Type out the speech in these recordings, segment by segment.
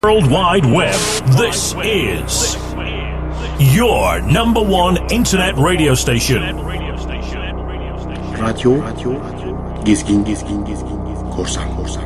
World Wide Web. This is your number one internet radio station. Radyo Gezgin Korsan.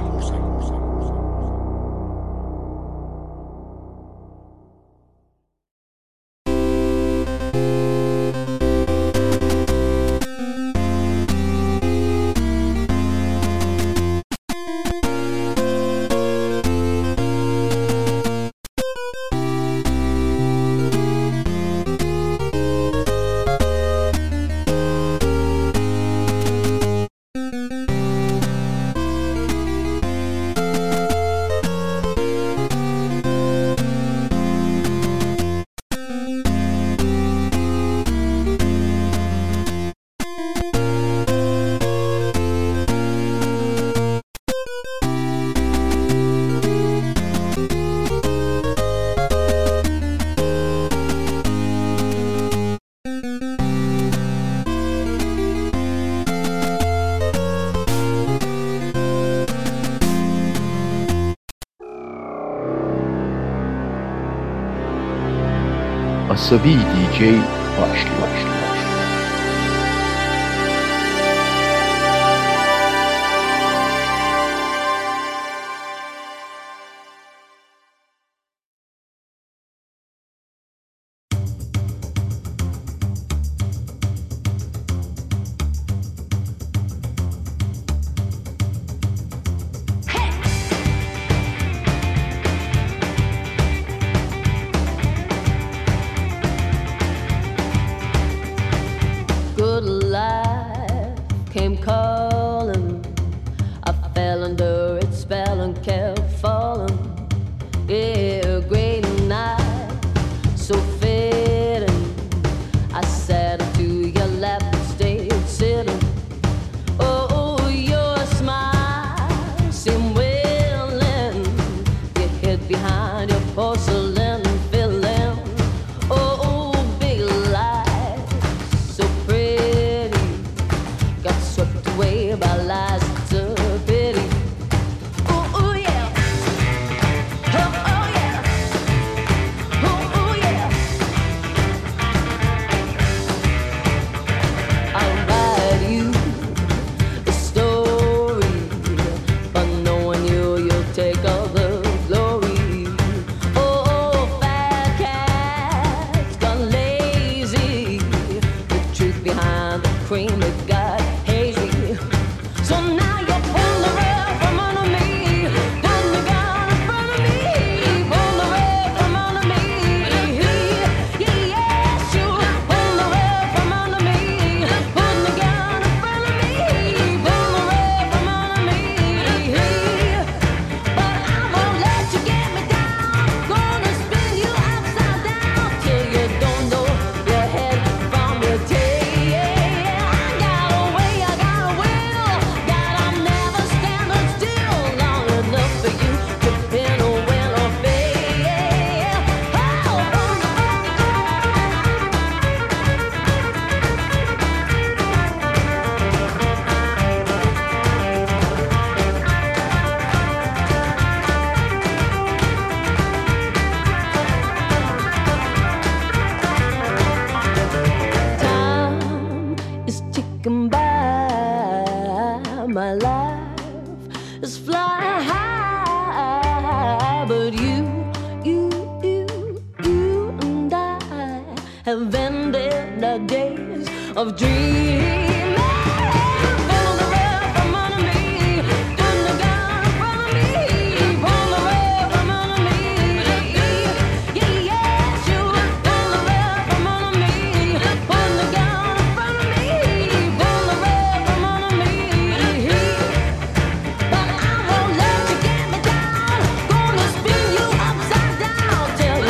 Asabi DJ başlıyor.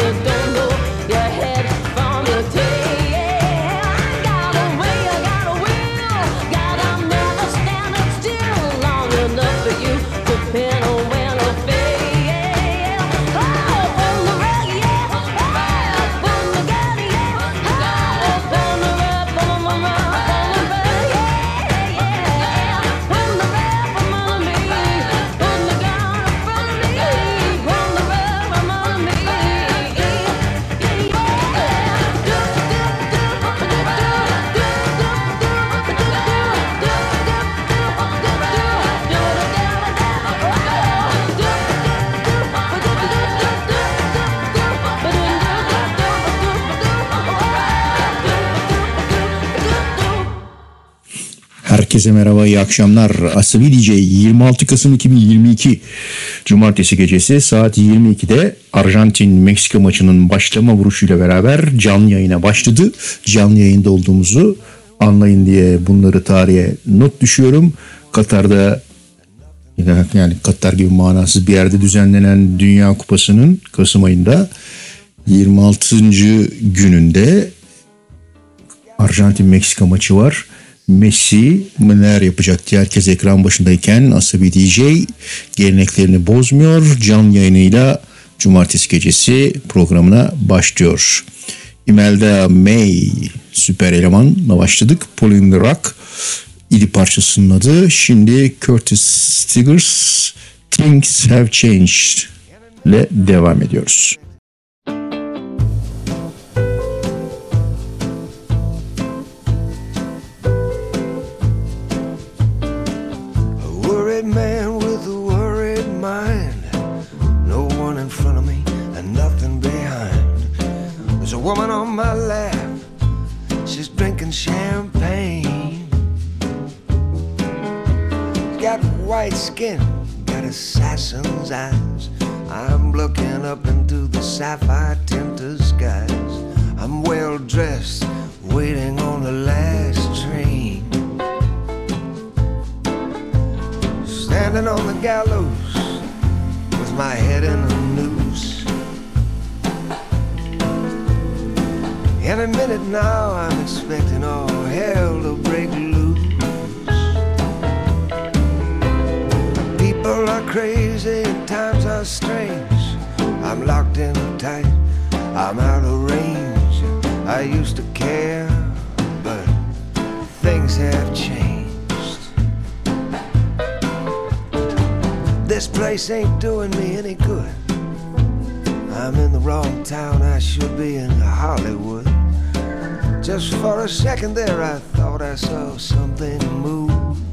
Got away, I got away. Herkese merhaba, iyi akşamlar. Asabi DJ 26 Kasım 2022 Cumartesi gecesi saat 22'de Arjantin-Meksika maçının başlama vuruşuyla beraber canlı yayına başladı. Canlı yayında olduğumuzu anlayın diye bunları tarihe not düşüyorum. Katar'da, yani Katar gibi manasız bir yerde düzenlenen Dünya Kupası'nın Kasım ayında 26. gününde Arjantin-Meksika maçı var. Messi neler yapacak diye herkes ekran başındayken Asabi DJ geleneklerini bozmuyor. Canlı yayınıyla Cumartesi gecesi programına başlıyor. Imelda May süper elemanla başladık. Pauline Rock idi parçasının adı. Şimdi Curtis Stigers Things Have Changed ile devam ediyoruz. Man with a worried mind, no one in front of me and nothing behind. There's a woman on my lap, she's drinking champagne. Got white skin, got assassin's eyes. I'm looking up into the sapphire tinted skies. I'm well dressed, waiting on the last train. Standing on the gallows with my head in a noose. Any minute now I'm expecting all hell to break loose. People are crazy and times are strange. I'm locked in tight, I'm out of range. I used to care, but things have changed. This place ain't doing me any good. I'm in the wrong town, I should be in Hollywood. Just for a second there I thought I saw something move.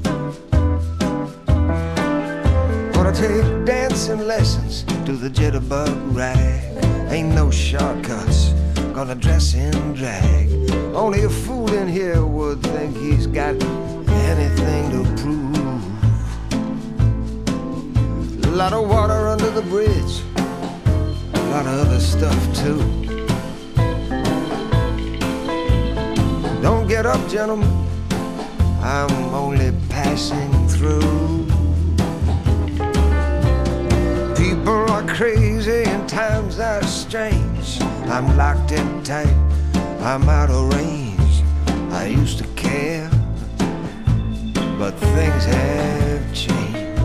Gonna take dancing lessons to the jitterbug rag. Ain't no shortcuts, gonna dress in drag. Only a fool in here would think he's got anything to prove. A lot of water under the bridge, a lot of other stuff too. Don't get up, gentlemen, I'm only passing through. People are crazy and times are strange. I'm locked in tight, I'm out of range. I used to care, but things have changed.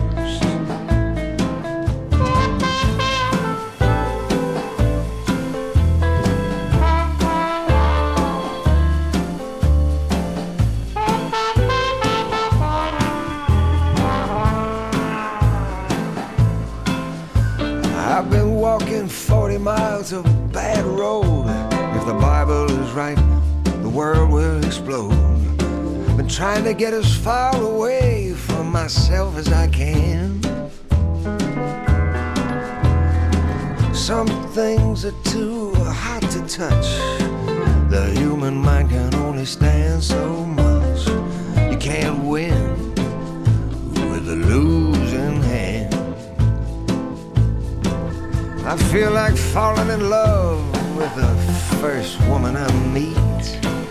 I've been walking 40 miles of bad road. If the Bible is right, the world will explode. Been trying to get as far away from myself as I can. Some things are too hot to touch. The human mind can only stand so much. You can't win with a losing hand. I feel like falling in love with the first woman I meet.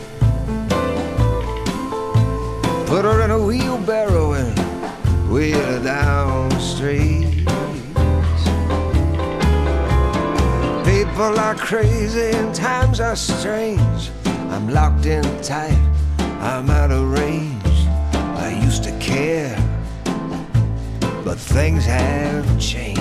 Put her in a wheelbarrow and wheel her down the street. People are crazy and times are strange. I'm locked in tight, I'm out of range. I used to care, but things have changed.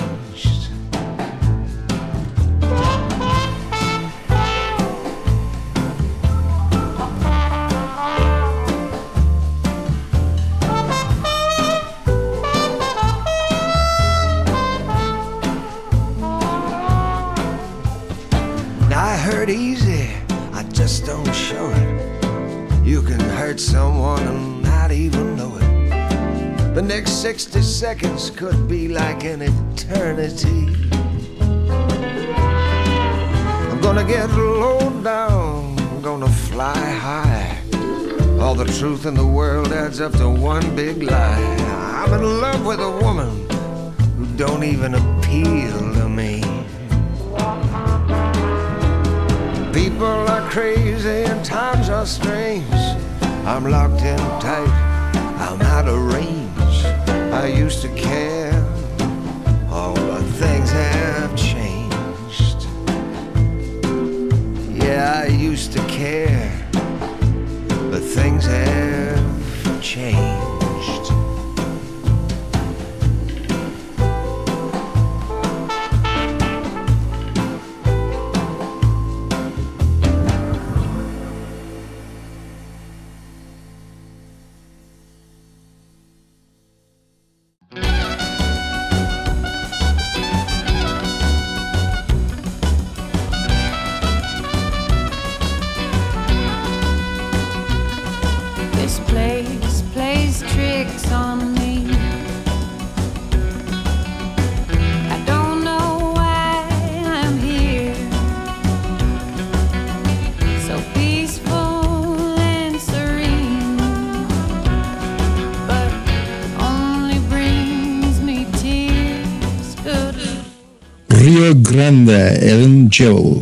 Easy, I just don't show it. You can hurt someone and not even know it. The next 60 seconds could be like an eternity. I'm gonna get low down, I'm gonna fly high. All the truth in the world adds up to one big lie. I'm in love with a woman who don't even appeal to me. People are crazy and times are strange. I'm locked in tight, I'm out of range. I used to care, oh, but things have changed. Yeah, I used to care, but things have changed. Rio Grande, Ellen Jewell.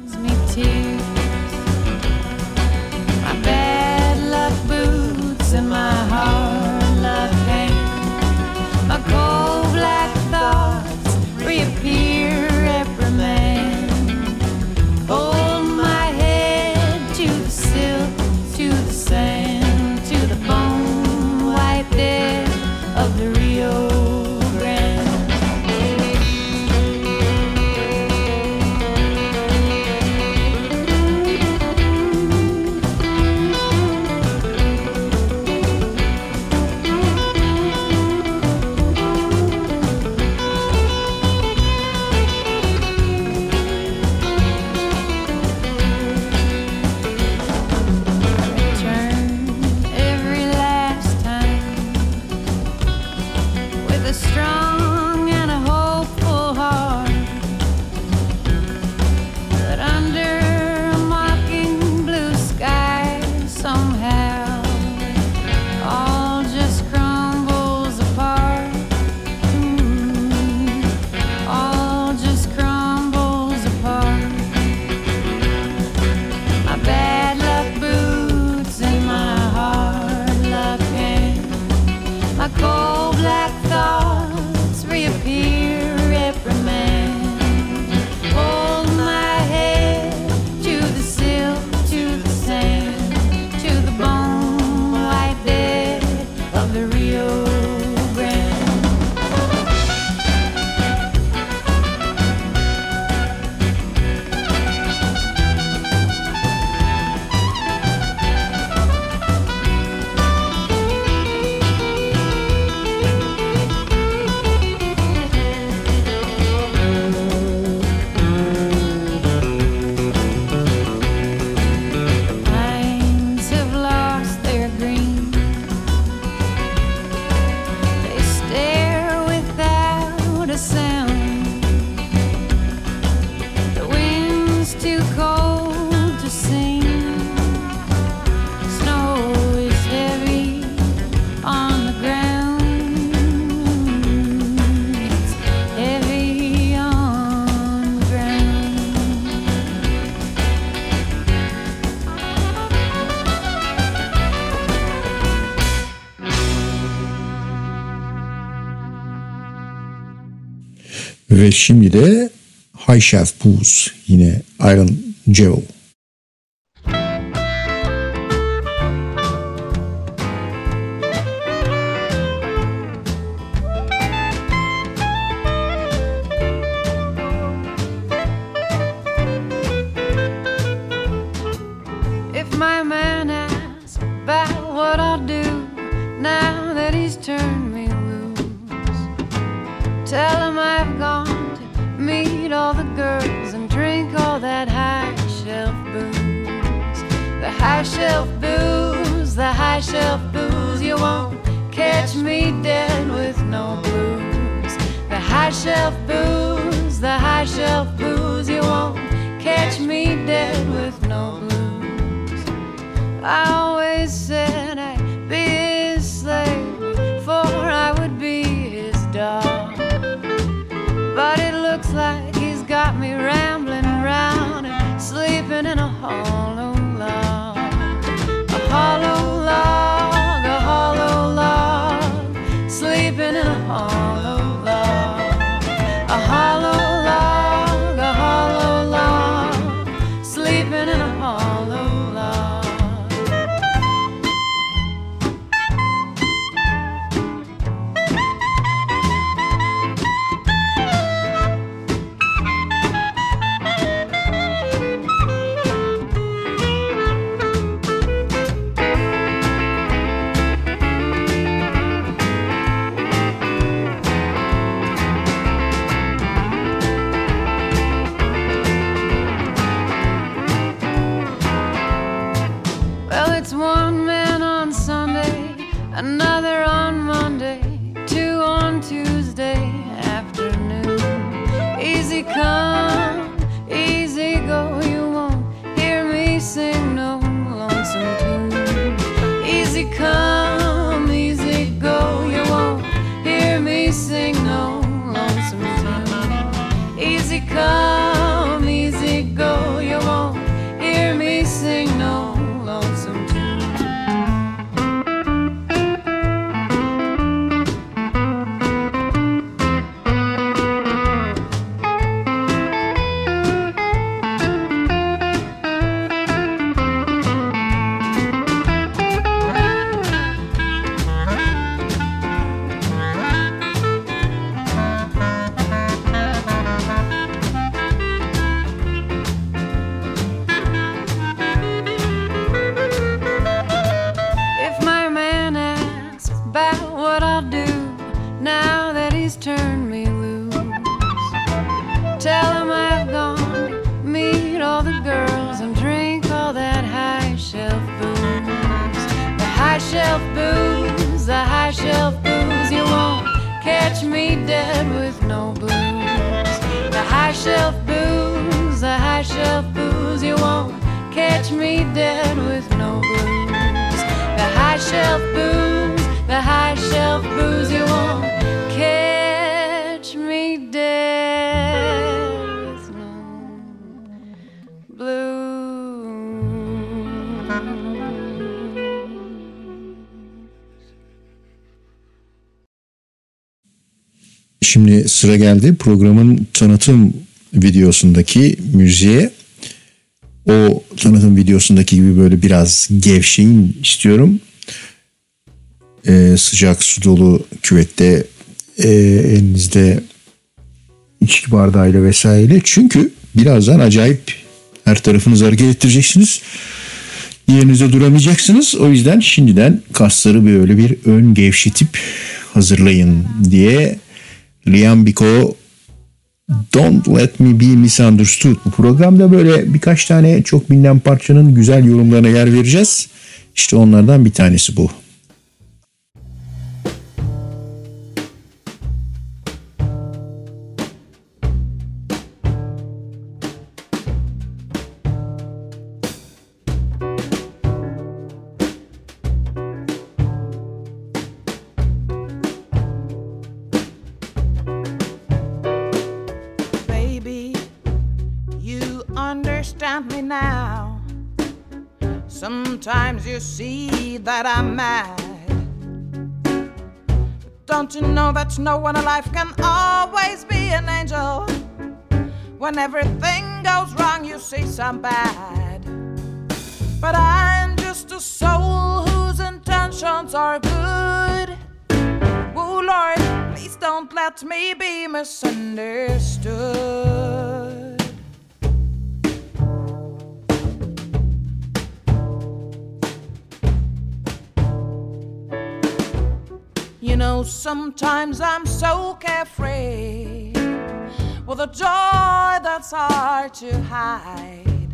Ve şimdi de High Shelf Blues, yine Ellen Jewell. If my man asks about what I'll do now that he's turned me loose, tell him I've gone to meet all the girls and drink all that high shelf booze. The high shelf booze, the high shelf booze. You won't catch me dead with no blues. The high shelf booze, the high shelf booze. You won't catch me dead with no blues. I always said shelf booze, the high shelf booze. You won't catch me dead with no booze. The high shelf booze, the high shelf booze. You won't catch me dead with no booze. The high shelf booze, the high shelf booze. You won't catch me dead with no blues. Şimdi sıra geldi programın tanıtım videosundaki müziğe. O tanıtım videosundaki gibi böyle biraz gevşeyin istiyorum. Sıcak su dolu küvette elinizde içki bardağıyla vesaire. Çünkü birazdan acayip her tarafınızı hareket ettireceksiniz. Yerinizde duramayacaksınız. O yüzden şimdiden kasları böyle bir ön gevşetip hazırlayın diye Liam Biko Don't Let Me Be Misunderstood. Bu programda böyle birkaç tane çok bilinen parçanın güzel yorumlarına yer vereceğiz. İşte onlardan bir tanesi bu. Me now. Sometimes you see that I'm mad. Don't you know that no one alive can always be an angel? When everything goes wrong, you see some bad. But I'm just a soul whose intentions are good. Oh Lord, please don't let me be misunderstood. You know, sometimes I'm so carefree, with a joy that's hard to hide.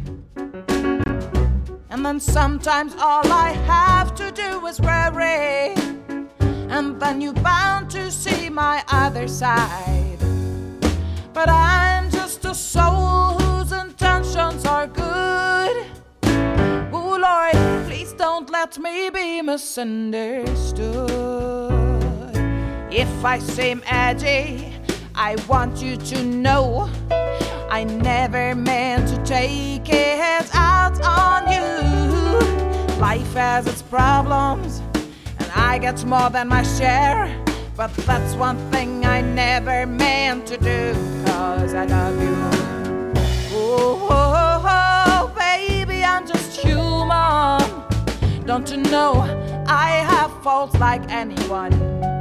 And then sometimes all I have to do is worry, and then you're bound to see my other side. But I'm just a soul whose intentions are good. Oh Lord, please don't let me be misunderstood. If I seem edgy, I want you to know I never meant to take it out on you. Life has its problems, and I get more than my share. But that's one thing I never meant to do, 'cause I love you. Oh, oh, oh, baby, I'm just human. Don't you know I have faults like anyone?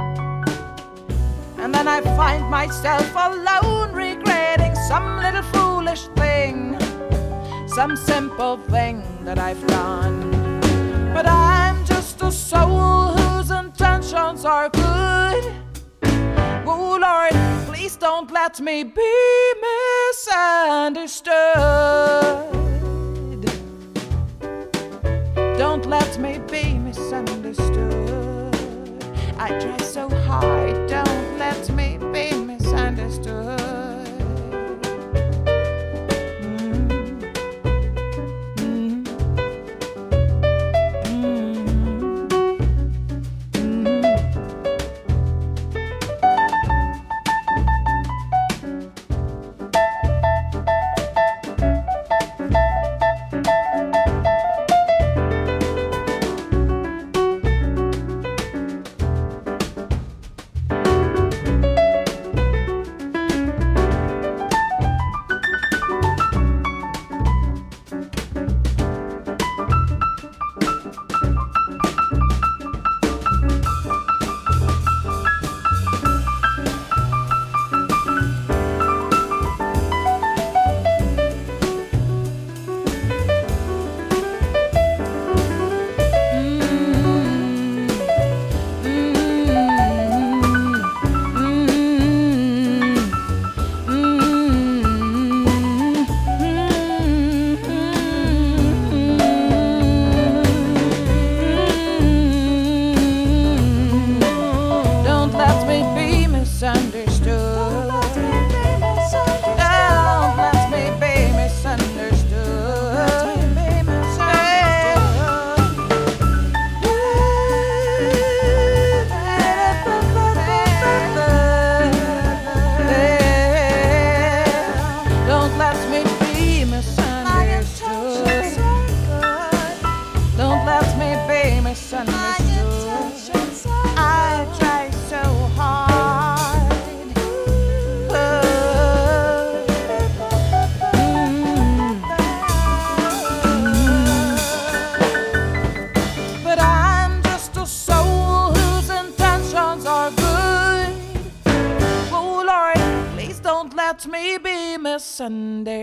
And then I find myself alone, regretting some little foolish thing, some simple thing that I've done. But I'm just a soul whose intentions are good. Oh Lord, please don't let me be misunderstood. Don't let me be misunderstood. I try so hard, don't let me be misunderstood.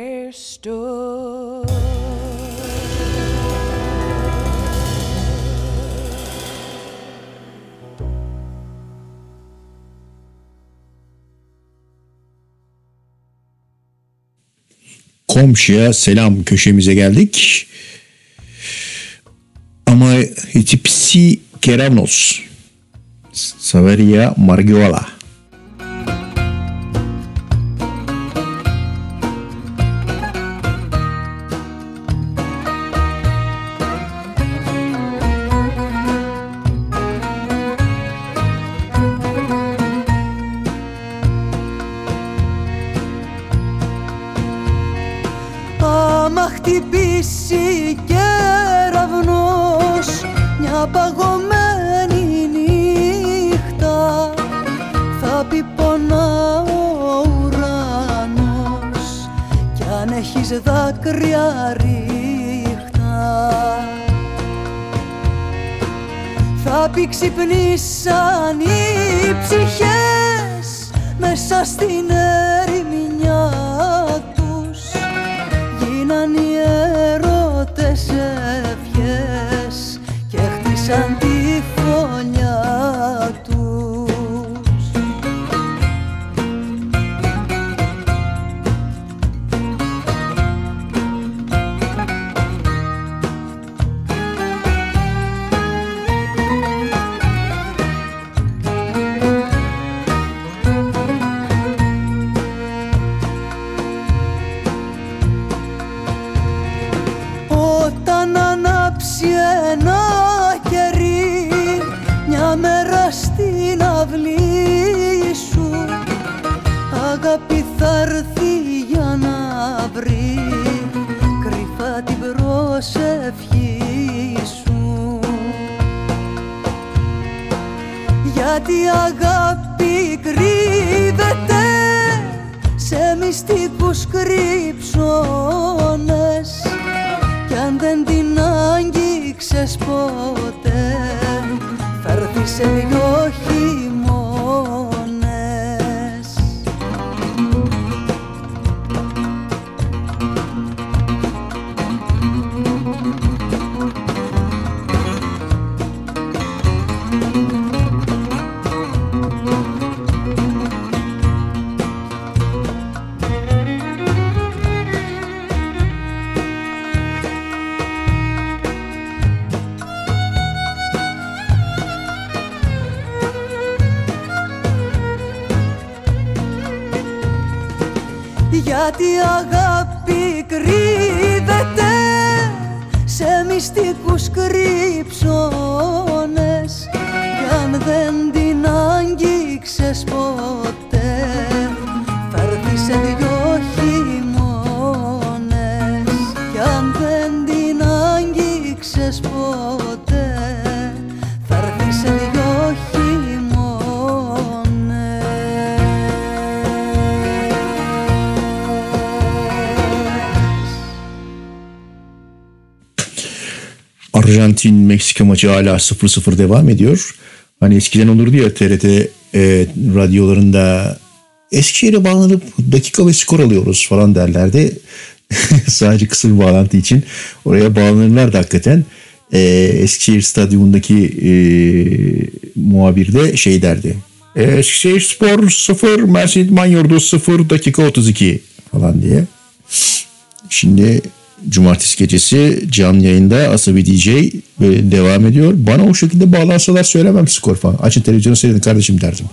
understood. Komşuya selam köşemize geldik. Ama Hitipsi Keravnos Saveria Margiola. Άμα χτυπήσει κεραυνός μια παγωμένη νύχτα, θα πει πονά ο ουρανός κι αν έχεις δάκρυα ρίχτα. Θα πει ξυπνήσαν οι ψυχές μέσα στην ερημιά τους, γίναν οι έρωτες ευχές και χτίσαν τη φωνιά τους. Όταν ανάψει ένα κερί μια μέρα στην αυλή σου, αγάπη θα έρθει για να βρει κρυφά την προσευχή σου. Γιατί αγάπη κρύβεται σε μυστικούς κρύψονες, κι αν δεν την άγγιξες ποτέ θα έρθει σε δυο χειμώνες. Γιατί αγάπη κρύβεται σε μυστικούς κρύψονες, κι αν δεν την άγγιξες ποτέ θα έρθει σε δυο χειμώνες. Κι αν δεν την άγγιξες ποτέ θα έρθει σε δυο Arjantin-Meksika maçı hala 0-0 devam ediyor. Hani eskiden olurdu ya TRT radyolarında Eskişehir'e bağlanıp dakika ve skor alıyoruz falan derlerdi. Sadece kısa bir bağlantı için oraya bağlanırlardı hakikaten. Eskişehir Stadyumundaki muhabir de şey derdi. Eskişehir Spor 0, Mersin İdman Yurdu 0, dakika 32 falan diye. Şimdi cumartesi gecesi canlı yayında Asabi DJ devam ediyor. Bana o şekilde bağlansalar söylemem skor falan. Açın televizyonu seyredin kardeşim derdim.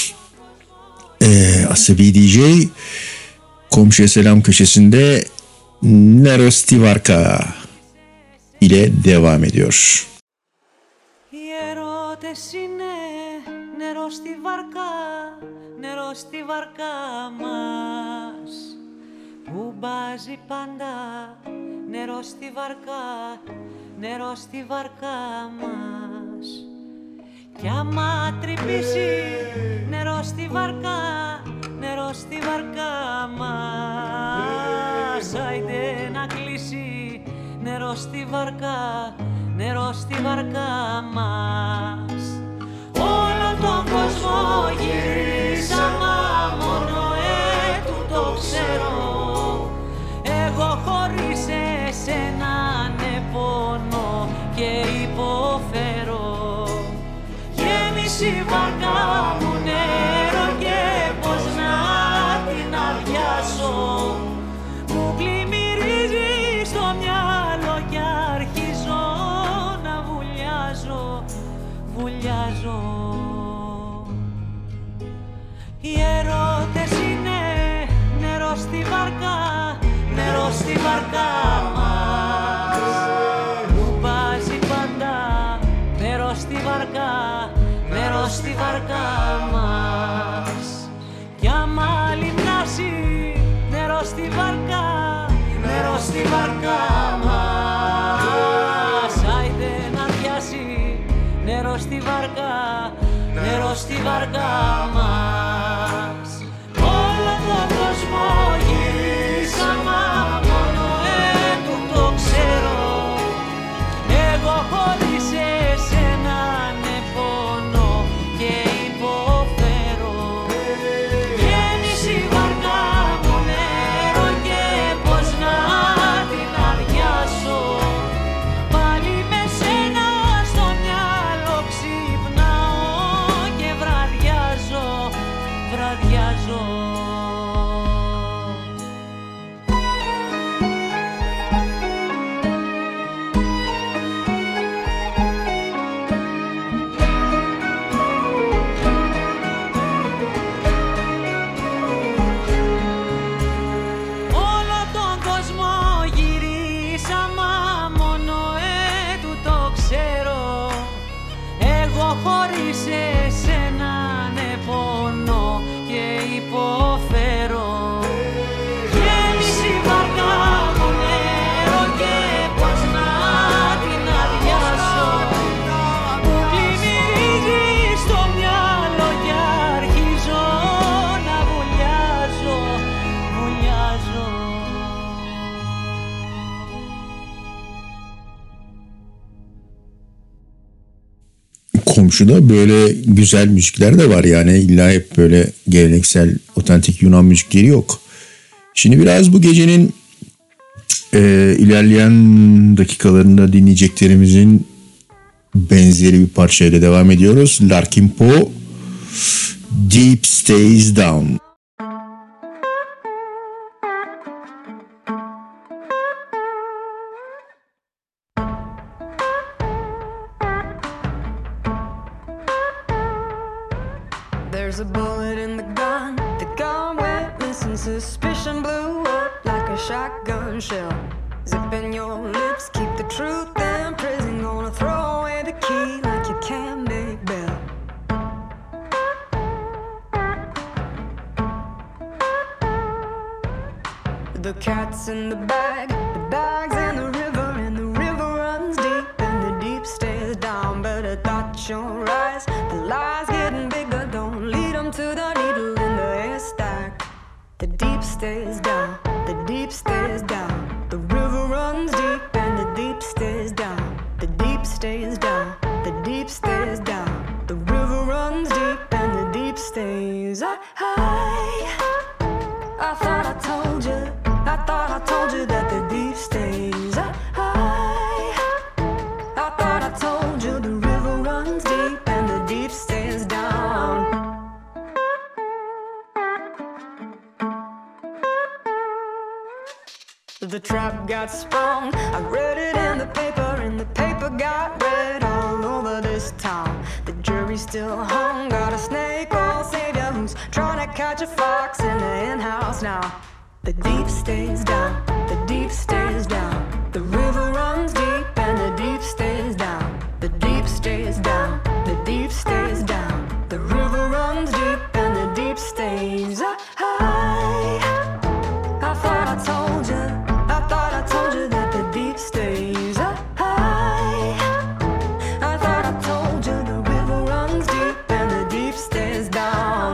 Asabi DJ komşuya selam köşesinde Nerostivarka ile devam ediyor. Οι ερώτες είναι νερό στη βαρκά, νερό στη βαρκά μας, που μπάζει πάντα. Νερό στη βαρκά, νερό στη βαρκά μας. Κι άμα τρυπήσει νερό στη βαρκά, νερό στη βαρκά μας. Άιντε να κλείσει νερό στη βαρκά, νερό στη βαρκά μας. Όλο τον κόσμο γύρισα, μα μόνο το ξέρω. Γέμισε η βάρκα μου νερό και πως να την αδειάσω. Μου πλημμυρίζει στο μυαλό και αρχίζω να βουλιάζω, βουλιάζω. Οι έρωτες είναι νερό στη βάρκα, νερό στη βάρκα μας. Μου βάζει πάντα νερό στη βάρκα, νερό στη βάρκα μας. Κι άμα λιμνάσει νερό στη βάρκα, νερό στη βάρκα μας. Άιντε να πιάσει νερό στη βάρκα, νερό στη βάρκα μας. Όλο τον κόσμο γυρίσαμε, μόνο του το ξέρω. Εγώ χωρίς εσένα ναι πονώ και υποφέρω. Γέμισε η βάρκα μου νερό και πως να την αδειάσω. Πάλι με σένα στο μυαλό ξυπνάω και βραδιάζω, βραδιάζω. Όλο τον κόσμο γυρίσα, μα μόνο του το ξέρω. Εγώ χωρίς εσένα ναι πονώ και υποφέρω. Γέμισε η βάρκα μου νερό και πως να την αδειάσω. Μου πλημμυρίζει στο μυαλό και αρχίζω να βουλιάζω, βουλιάζω. Komşuda böyle güzel müzikler de var, yani illa hep böyle geleneksel otantik Yunan müzikleri yok. Şimdi biraz bu gecenin ilerleyen dakikalarında dinleyeceklerimizin benzeri bir parçayla devam ediyoruz. Larkin Poe, Deep Stays Down. There's a bullet in the gun went missing. Suspicion blew up like a shotgun shell. Zipping your lips, keep the truth in prison. Gonna throw away the key like you can't make bail. The cat's in the bag's in the river, and the river runs deep, and the deep stays down. Better dot your eyes, the lies getting bigger. Don't lead them to the needle in the haystack. The deep stays down, the deep stays down. The river runs deep, and the deep stays down. The deep stays down, the deep stays down. The river runs deep, and the deep stays high. I thought I told you, I thought I told you that the deep stays high. I thought I told you the river runs deep and the deep stays down. The trap got sprung, I read it in the paper, and the paper got read all over this town. The jury still hung, got a snake oil savior who's trying to catch a fox in the henhouse now. The deep stays down, the deep stays down. The river runs deep and the deep stays down. The deep stays down, the deep stays down. The river runs deep and the deep stays high. I thought I told you, I thought I told you that the deep stays high. I thought I told you the river runs deep and the deep stays down.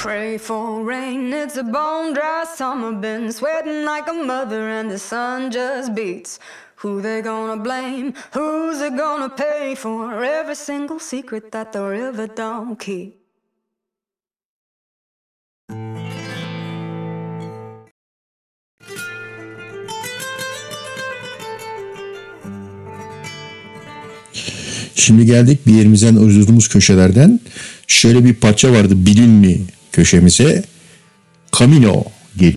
pray for rain. It's a bone dry summer, been sweating like a mother, and the sun just beats. Who they gonna blame? Who's it gonna pay for every single secret that the river don't keep? Şimdi geldik bir yerimizden uydurduğumuz köşelerden. Şöyle bir parça vardı, bilin mi köşemize. Camino geliyor.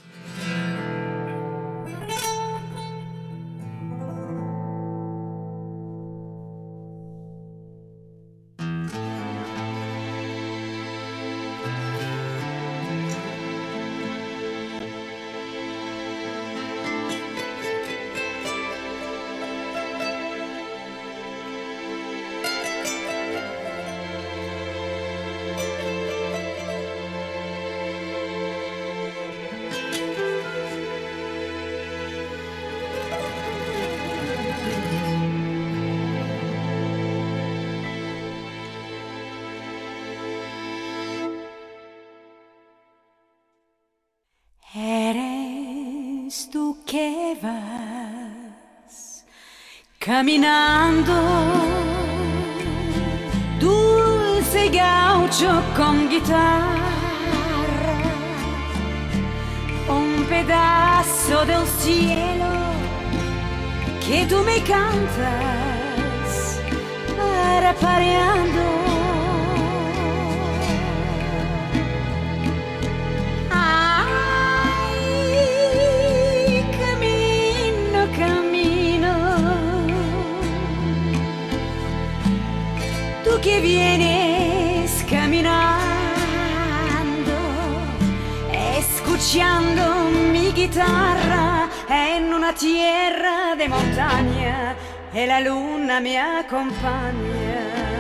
Eres tú que vas caminando, dulce gaucho con guitarra, un pedazo del cielo que tú me cantas parapareando. Que vienes caminando, escuchando mi guitarra en una tierra de montaña y la luna me acompaña.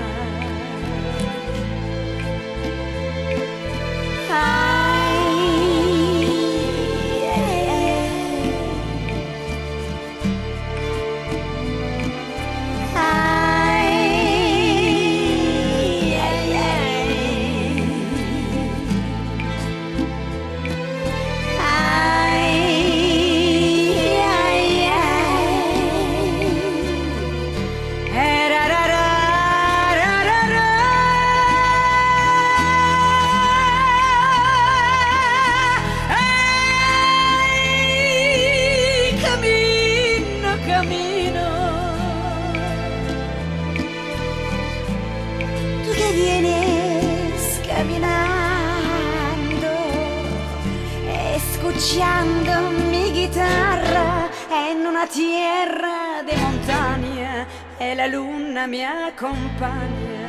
Escuchando mi guitarra en una tierra de montaña y la luna me acompaña.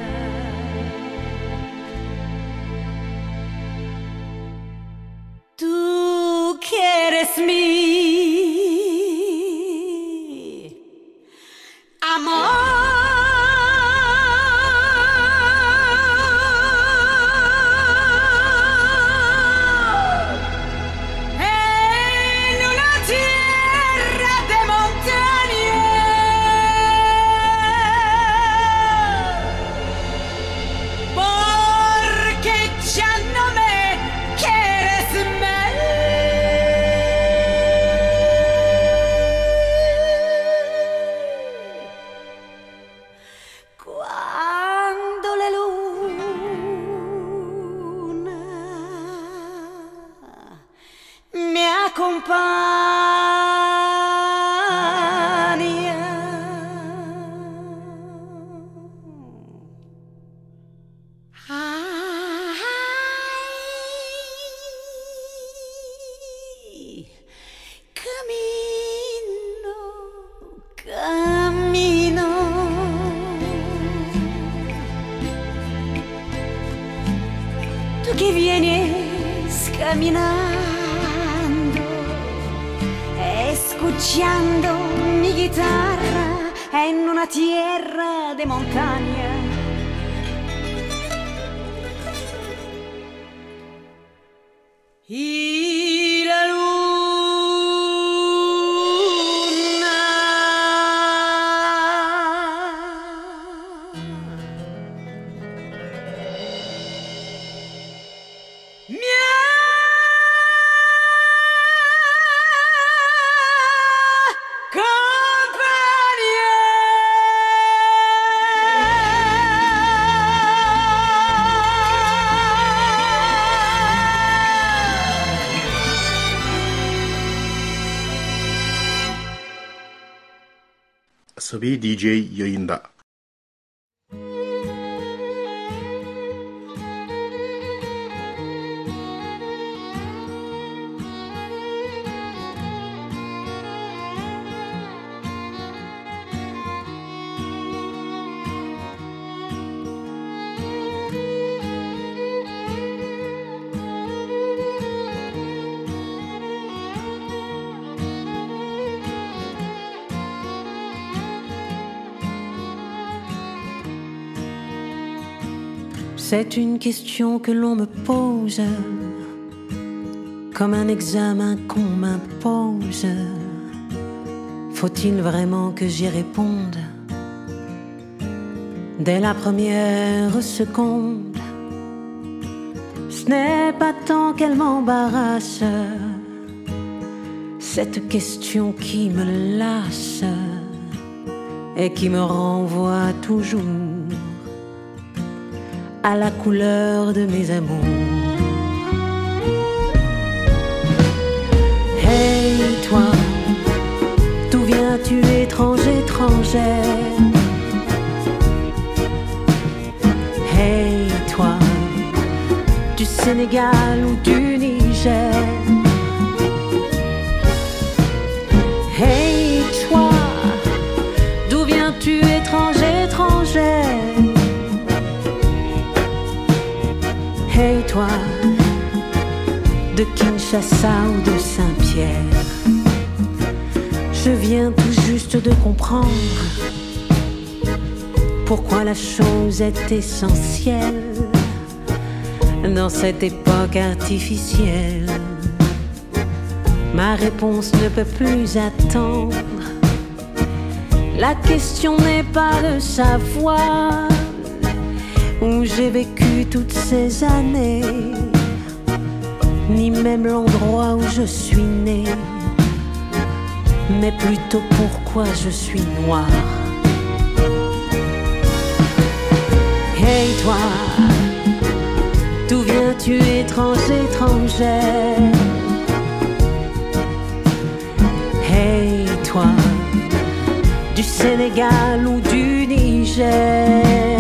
Tú que eres mi amor. Que vienes caminando, escuchando mi guitarra en una tierra de montaña. Y la luna me Asabi DJ yayında. C'est une question que l'on me pose, comme un examen qu'on m'impose. Faut-il vraiment que j'y réponde dès la première seconde? Ce n'est pas tant qu'elle m'embarrasse, cette question qui me lasse et qui me renvoie toujours à la couleur de mes amours. Hey toi, d'où viens-tu étranger, étrangère? Hey toi, du Sénégal ou du Niger? Hey toi, d'où viens-tu étranger, étrangère? Hey toi, de Kinshasa ou de Saint-Pierre? Je viens tout juste de comprendre pourquoi la chose est essentielle dans cette époque artificielle. Ma réponse ne peut plus attendre. La question n'est pas de savoir où j'ai vécu toutes ces années, ni même l'endroit où je suis née, mais plutôt pourquoi je suis noire. Hey toi, d'où viens-tu étranger, étrangère? Hey toi, du Sénégal ou du Niger?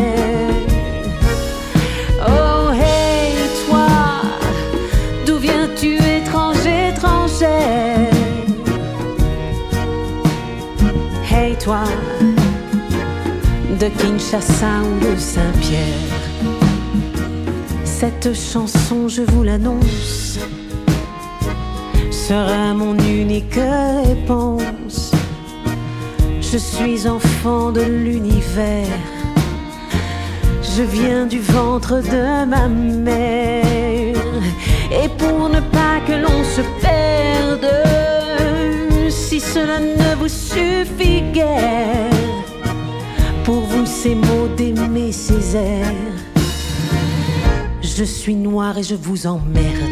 Oh hey toi, d'où viens-tu étranger, étrangère? Hey toi, de Kinshasa ou de Saint-Pierre? Cette chanson, je vous l'annonce, sera mon unique réponse. Je suis enfant de l'univers, je viens du ventre de ma mère. Et pour ne pas que l'on se perde, si cela ne vous suffit guère, pour vous ces mots d'aimer ces airs, je suis noire et je vous emmerde.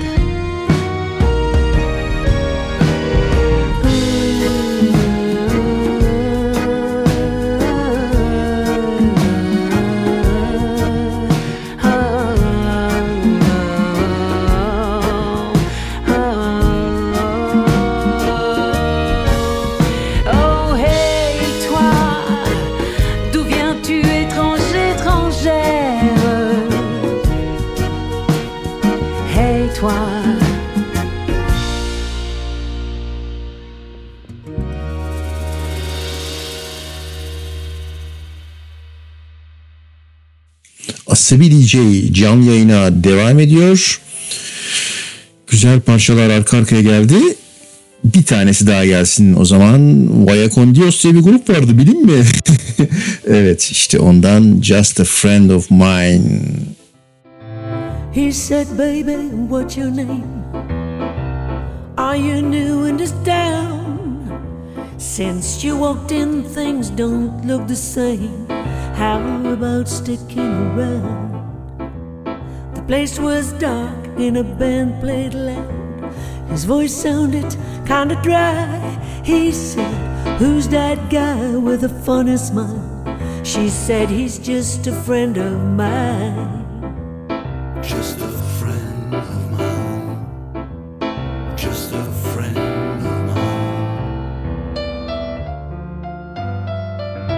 Asabi DJ canlı yayına devam ediyor. Güzel parçalar arka arkaya geldi. Bir tanesi daha gelsin o zaman. Vaya Con Dios diye bir grup vardı, bilin mi? Evet, işte ondan Just a Friend of Mine. He said, baby, what's your name? Are you new in this town? Since you walked in, things don't look the same. How about sticking around? The place was dark and a band played loud. His voice sounded kinda dry. He said, who's that guy with a funny smile? She said, he's just a friend of mine. Just a friend of mine. Just a friend of mine.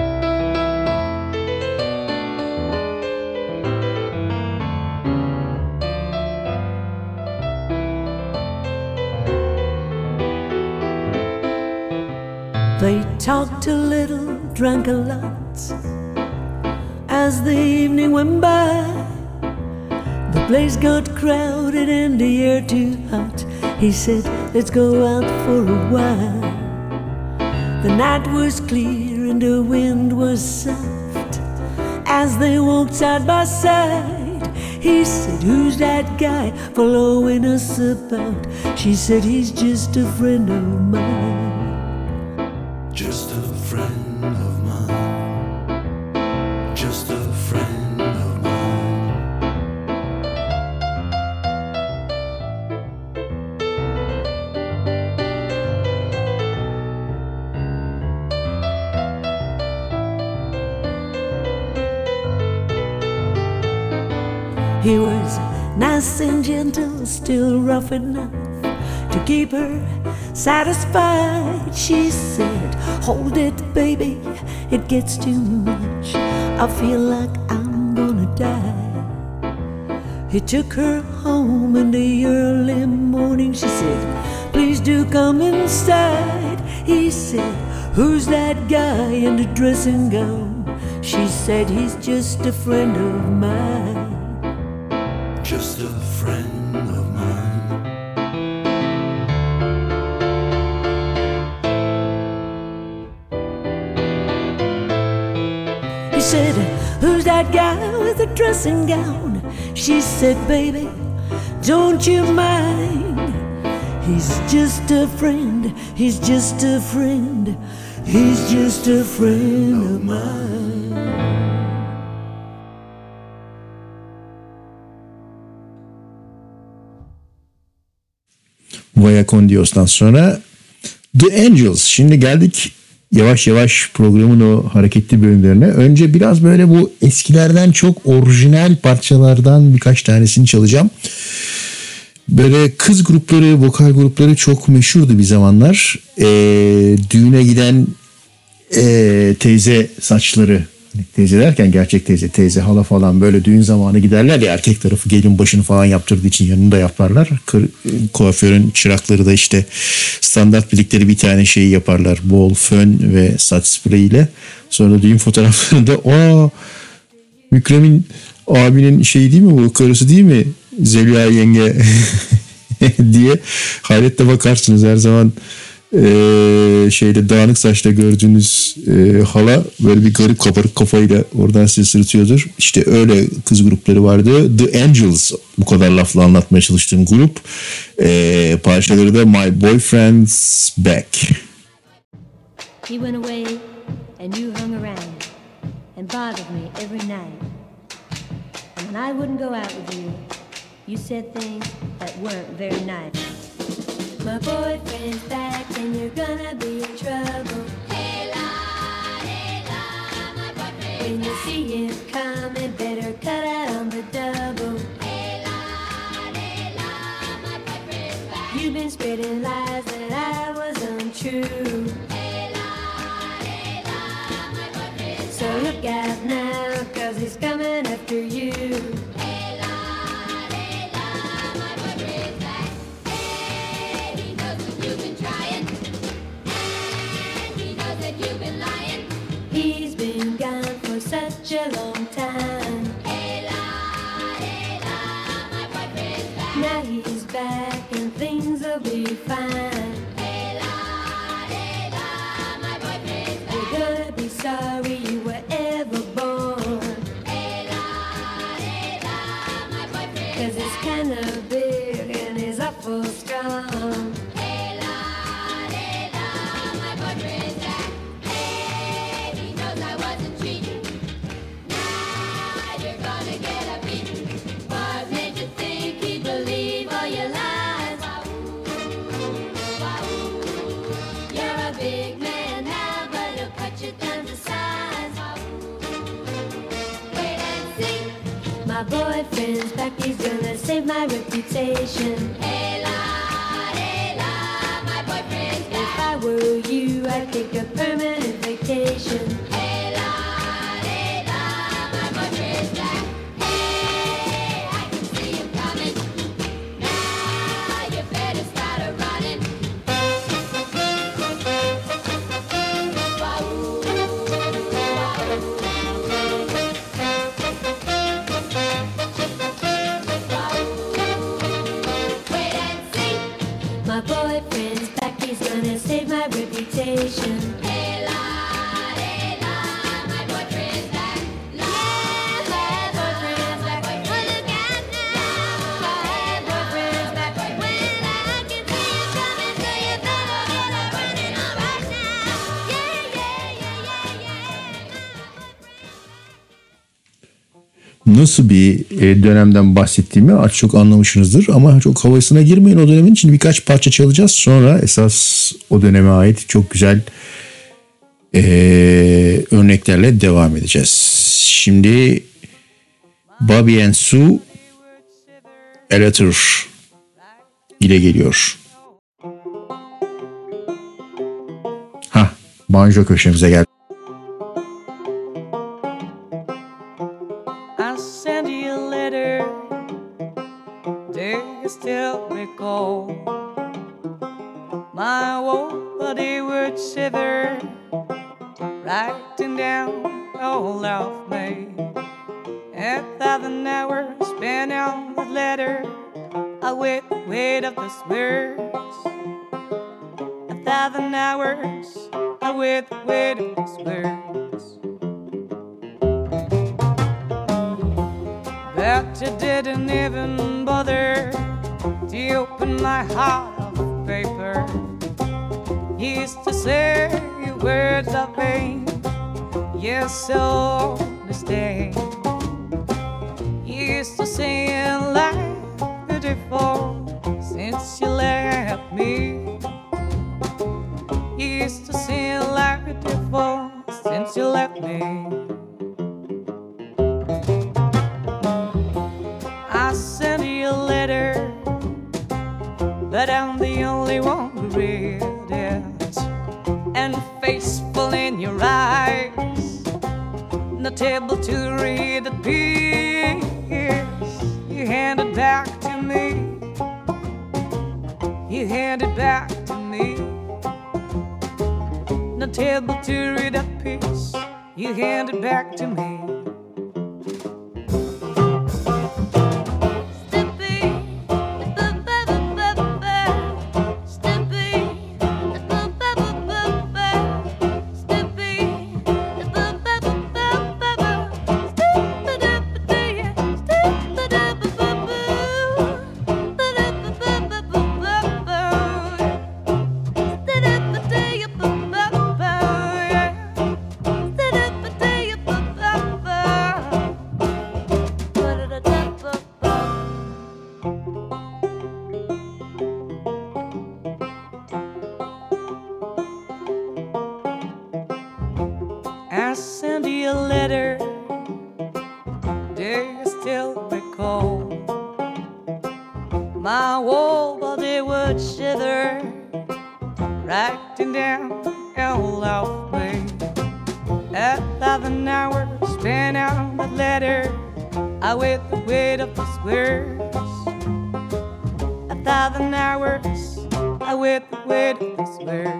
They talked a little, drank a lot. As the evening went by, the place got crowded and the air too hot. He said, let's go out for a while. The night was clear and the wind was soft. As they walked side by side, he said, who's that guy following us about? She said, he's just a friend of mine. Just a friend of mine. Just a friend of mine. He was nice and gentle, still rough enough to keep her satisfied. She said, hold it, baby, it gets too much. I feel like I'm gonna die. He took her home in the early morning. She said, please do come inside. He said, who's that guy in the dressing gown? She said, he's just a friend of mine. Just a friend of mine. He said, who's that guy with the dressing gown? She said, baby, don't you mind. He's just a friend, he's just a friend, he's just a friend of mine. Vaya con Dios'tan sonra The Angels. Şimdi geldik yavaş yavaş programın o hareketli bölümlerine. Önce biraz böyle bu eskilerden çok orijinal parçalardan birkaç tanesini çalacağım. Böyle kız grupları, vokal grupları çok meşhurdu bir zamanlar. Düğüne giden teyze saçları, teyze derken gerçek teyze, teyze, hala falan, böyle düğün zamanı giderler ya, erkek tarafı gelin başını falan yaptırdığı için yanında yaparlar. Kuaförün çırakları da işte standart bildikleri bir tane şeyi yaparlar. Bol fön ve saç spreyiyle. Sonra düğün fotoğraflarında Mükremin abinin şeyi değil mi bu, karısı değil mi Zeliha yenge diye hayretle bakarsınız her zaman. Şeyde dağınık saçla gördüğünüz hala böyle bir garip kabarık kafayla oradan sizi sırıtıyordur. İşte öyle kız grupları vardı. The Angels, bu kadar lafla anlatmaya çalıştığım grup. Parçaları da My Boyfriend's Back. He went away and you hung around and bothered me every night. And when I wouldn't go out with you, you said things that weren't very nice. My boyfriend's back and you're gonna be in trouble. Hey la, my boyfriend. When you see him coming, better cut out on the double. Hey la, my boyfriend's back. You've been spreading lies that I was untrue. Hey la, my boyfriend's so look out now, 'cause he's coming after you. Such a long time. Hey la, my boyfriend's back. Now he's back and things will be fine. Hey la, my boyfriend's back. You're gonna be sorry you were ever born. Hey la, my boyfriend's 'cause it's kinda big and he's awful strong. Hey la, my boyfriend's back. Hey, he knows I wasn't cheating. My boyfriend's back, he's gonna save my reputation. Hey la, my boyfriend's back. If I were you, I'd take a permanent vacation. Hey la, my boyfriend's back. Hey, I can see him coming. Now you better start a running. boyfriend's back, he's gonna save my reputation. Layla, Layla, my boyfriend's back. Yeah, my boyfriend's back. Oh, look out now, my boyfriend's back. When I can see you coming, so you better get up running on right now. Yeah, yeah, yeah, yeah, yeah. Nasıl bir dönemden bahsettiğimi artık çok anlamışsınızdır ama çok havasına girmeyin o dönemin. Şimdi birkaç parça çalacağız, sonra esas o döneme ait çok güzel örneklerle devam edeceğiz. Şimdi Bobby and Sue A Letter ile geliyor. Banjo köşemize geldi. I send you a letter, do you still recall? My whole body would shiver, writing down all of me. 1,000 hours spent on the letter, I wait the weight of those words. 1,000 hours, I wait the weight of those words. But you didn't even bother to open my heart of paper. You used to say words of pain, yes, so disdain. You used to sing like beautiful since you left me. You used to sing like beautiful since you left me. I sent you a letter, but I'm the only one who read it. And faithful in your eyes, not able to read the piece you handed back to me. You handed back to me. Not able to read that piece you handed back to me. I sent you a letter, do you still recall? My whole body would shiver, writing down all of me. 1,000 hours spent on that letter, I wait the weight of those words. 1,000 hours, I wait the weight of those words.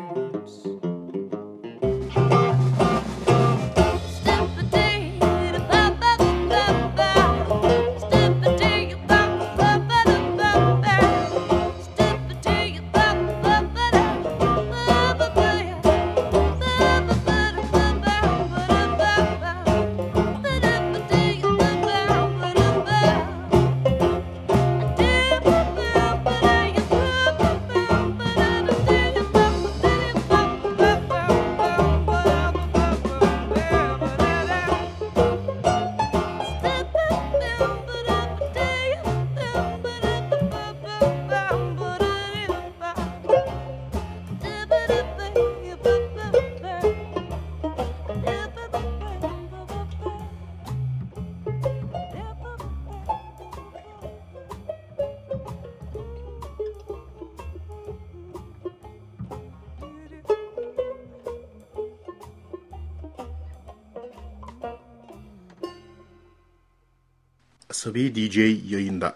Asabi DJ yayında.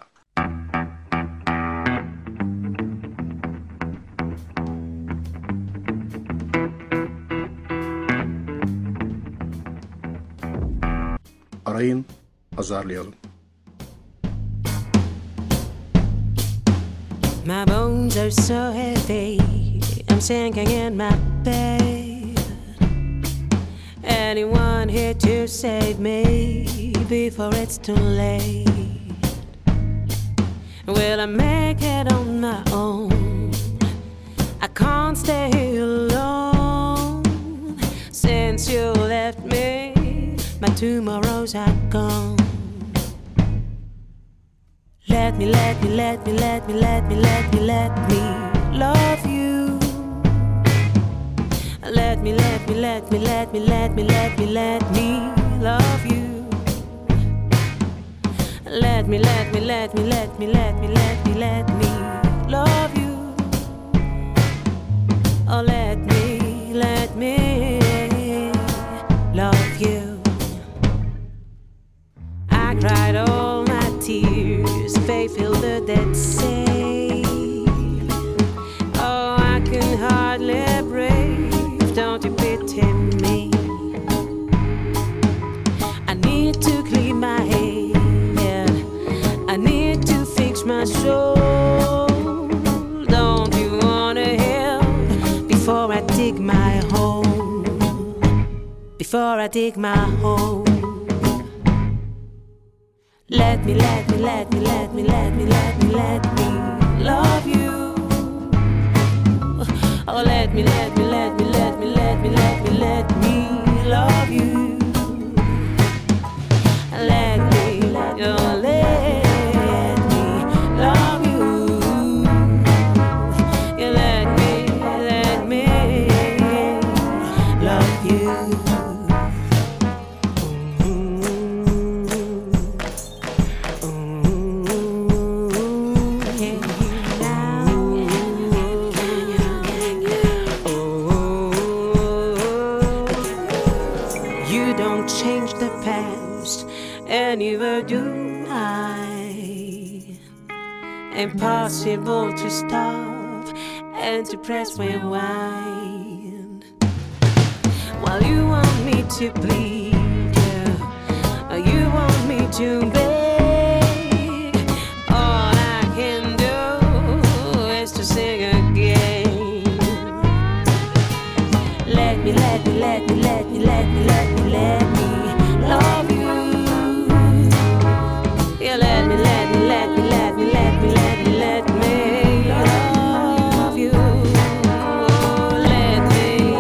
Arayın, azarlayalım. My bones are so heavy, I'm sinking in my bed. Anyone here to save me before it's too late? Will I make it on my own? I can't stay here alone. Since you left me, my tomorrows are gone. Let me love you. Let me love you. Let me love you. Let me love you. Oh, let me love you. I cried all my tears, faith filled the Dead Sea. Oh, I can hardly breathe, don't you pity me? I need to clean my head, I need to fix my soul. Don't you wanna help before I dig my hole? Before I dig my hole. Let me love you. Oh, let me love you. Let me love you. Let me love you. You let me love you. Neither do I. Impossible to stop and to press rewind. While you want me to bleed, yeah, you want me to beg. All I can do is to sing again. Let me love you. Let me love you. Let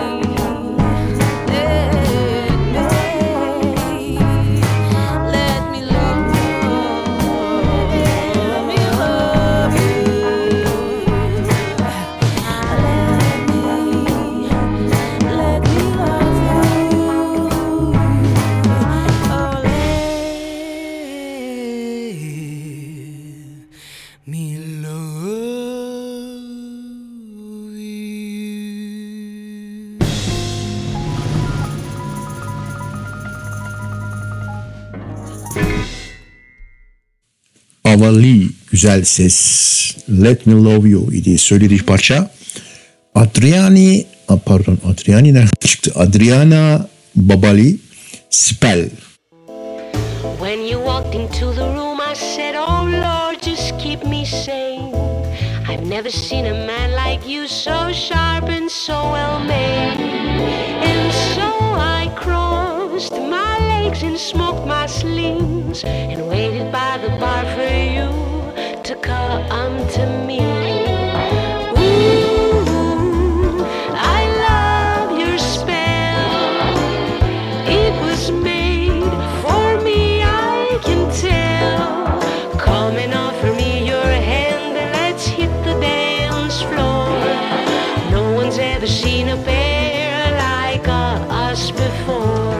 me love Havalı, güzel ses. Let Me Love You idi söylediği parça. Adriana Babali Spell. When you walked into the room, I said, oh Lord, just keep me sane. I've never seen a man like you, so sharp and so well made. And so I crossed my legs and smoked my slings and waited by the bar for you to come to me. Ooh, I love your spell. It was made for me, I can tell. Come and offer me your hand and let's hit the dance floor. No one's ever seen a pair like us before.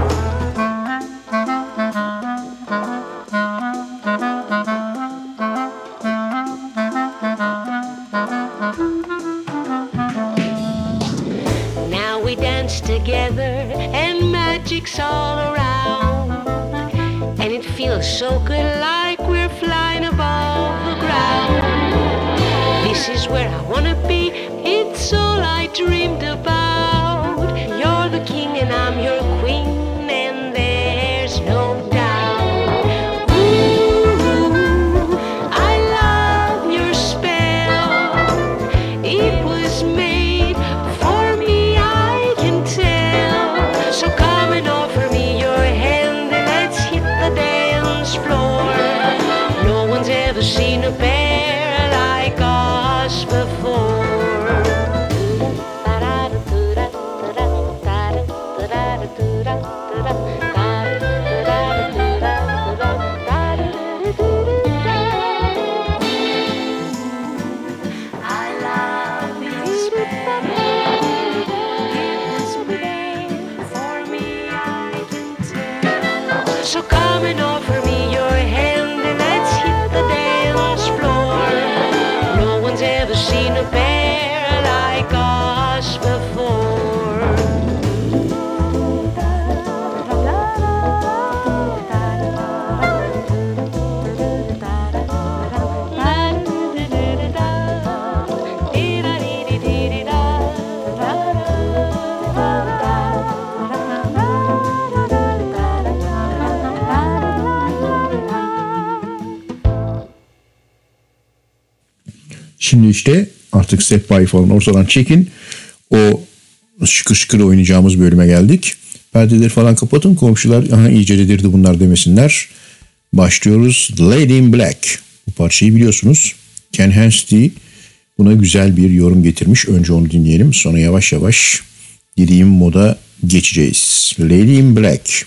Now we dance together and magic's all around, and it feels so good like we're flying above the ground. This is where I wanna be, it's all I dreamed about. You're the king and I'm your queen, and there's no doubt. Ooh, I love your spell. prepare like us before. Şimdi işte artık Step By falan ortadan çekin. O şıkır şıkır oynayacağımız bölüme geldik. Perdeleri falan kapatın, komşular aha iyice dedirdi bunlar demesinler. Başlıyoruz. Lady in Black. Bu parçayı biliyorsunuz. Ken Hensley buna güzel bir yorum getirmiş. Önce onu dinleyelim. Sonra yavaş yavaş dediğim moda geçeceğiz. Lady in Black.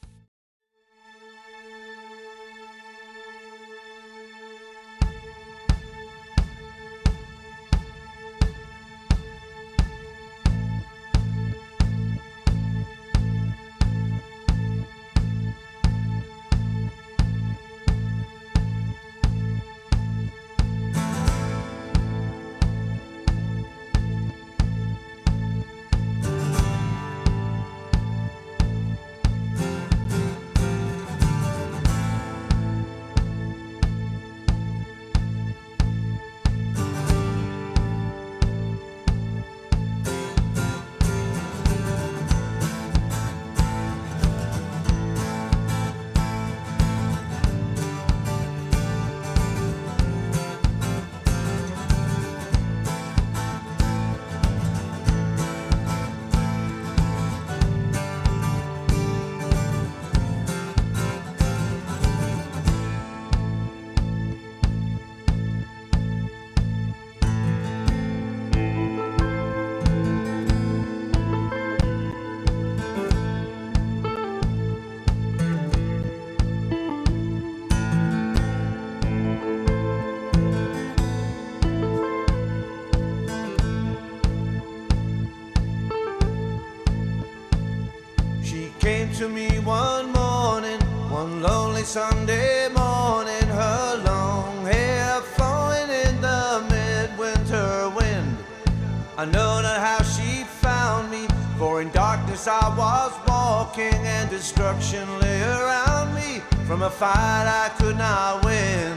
To me one morning, one lonely Sunday morning, her long hair flowing in the midwinter wind. I know not how she found me, for in darkness I was walking and destruction lay around me. From a fight I could not win.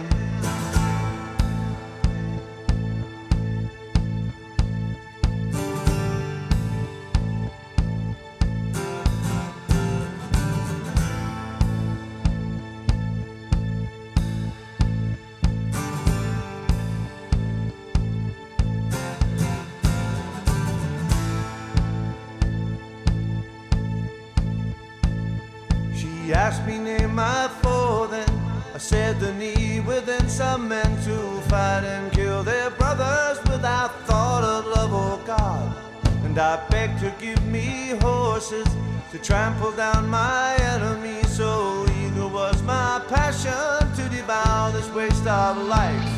She asked me name my foe, then I said the need within some men to fight and kill their brothers without thought of love or God. And I begged her give me horses to trample down my enemies. So eager was my passion to devour this waste of life.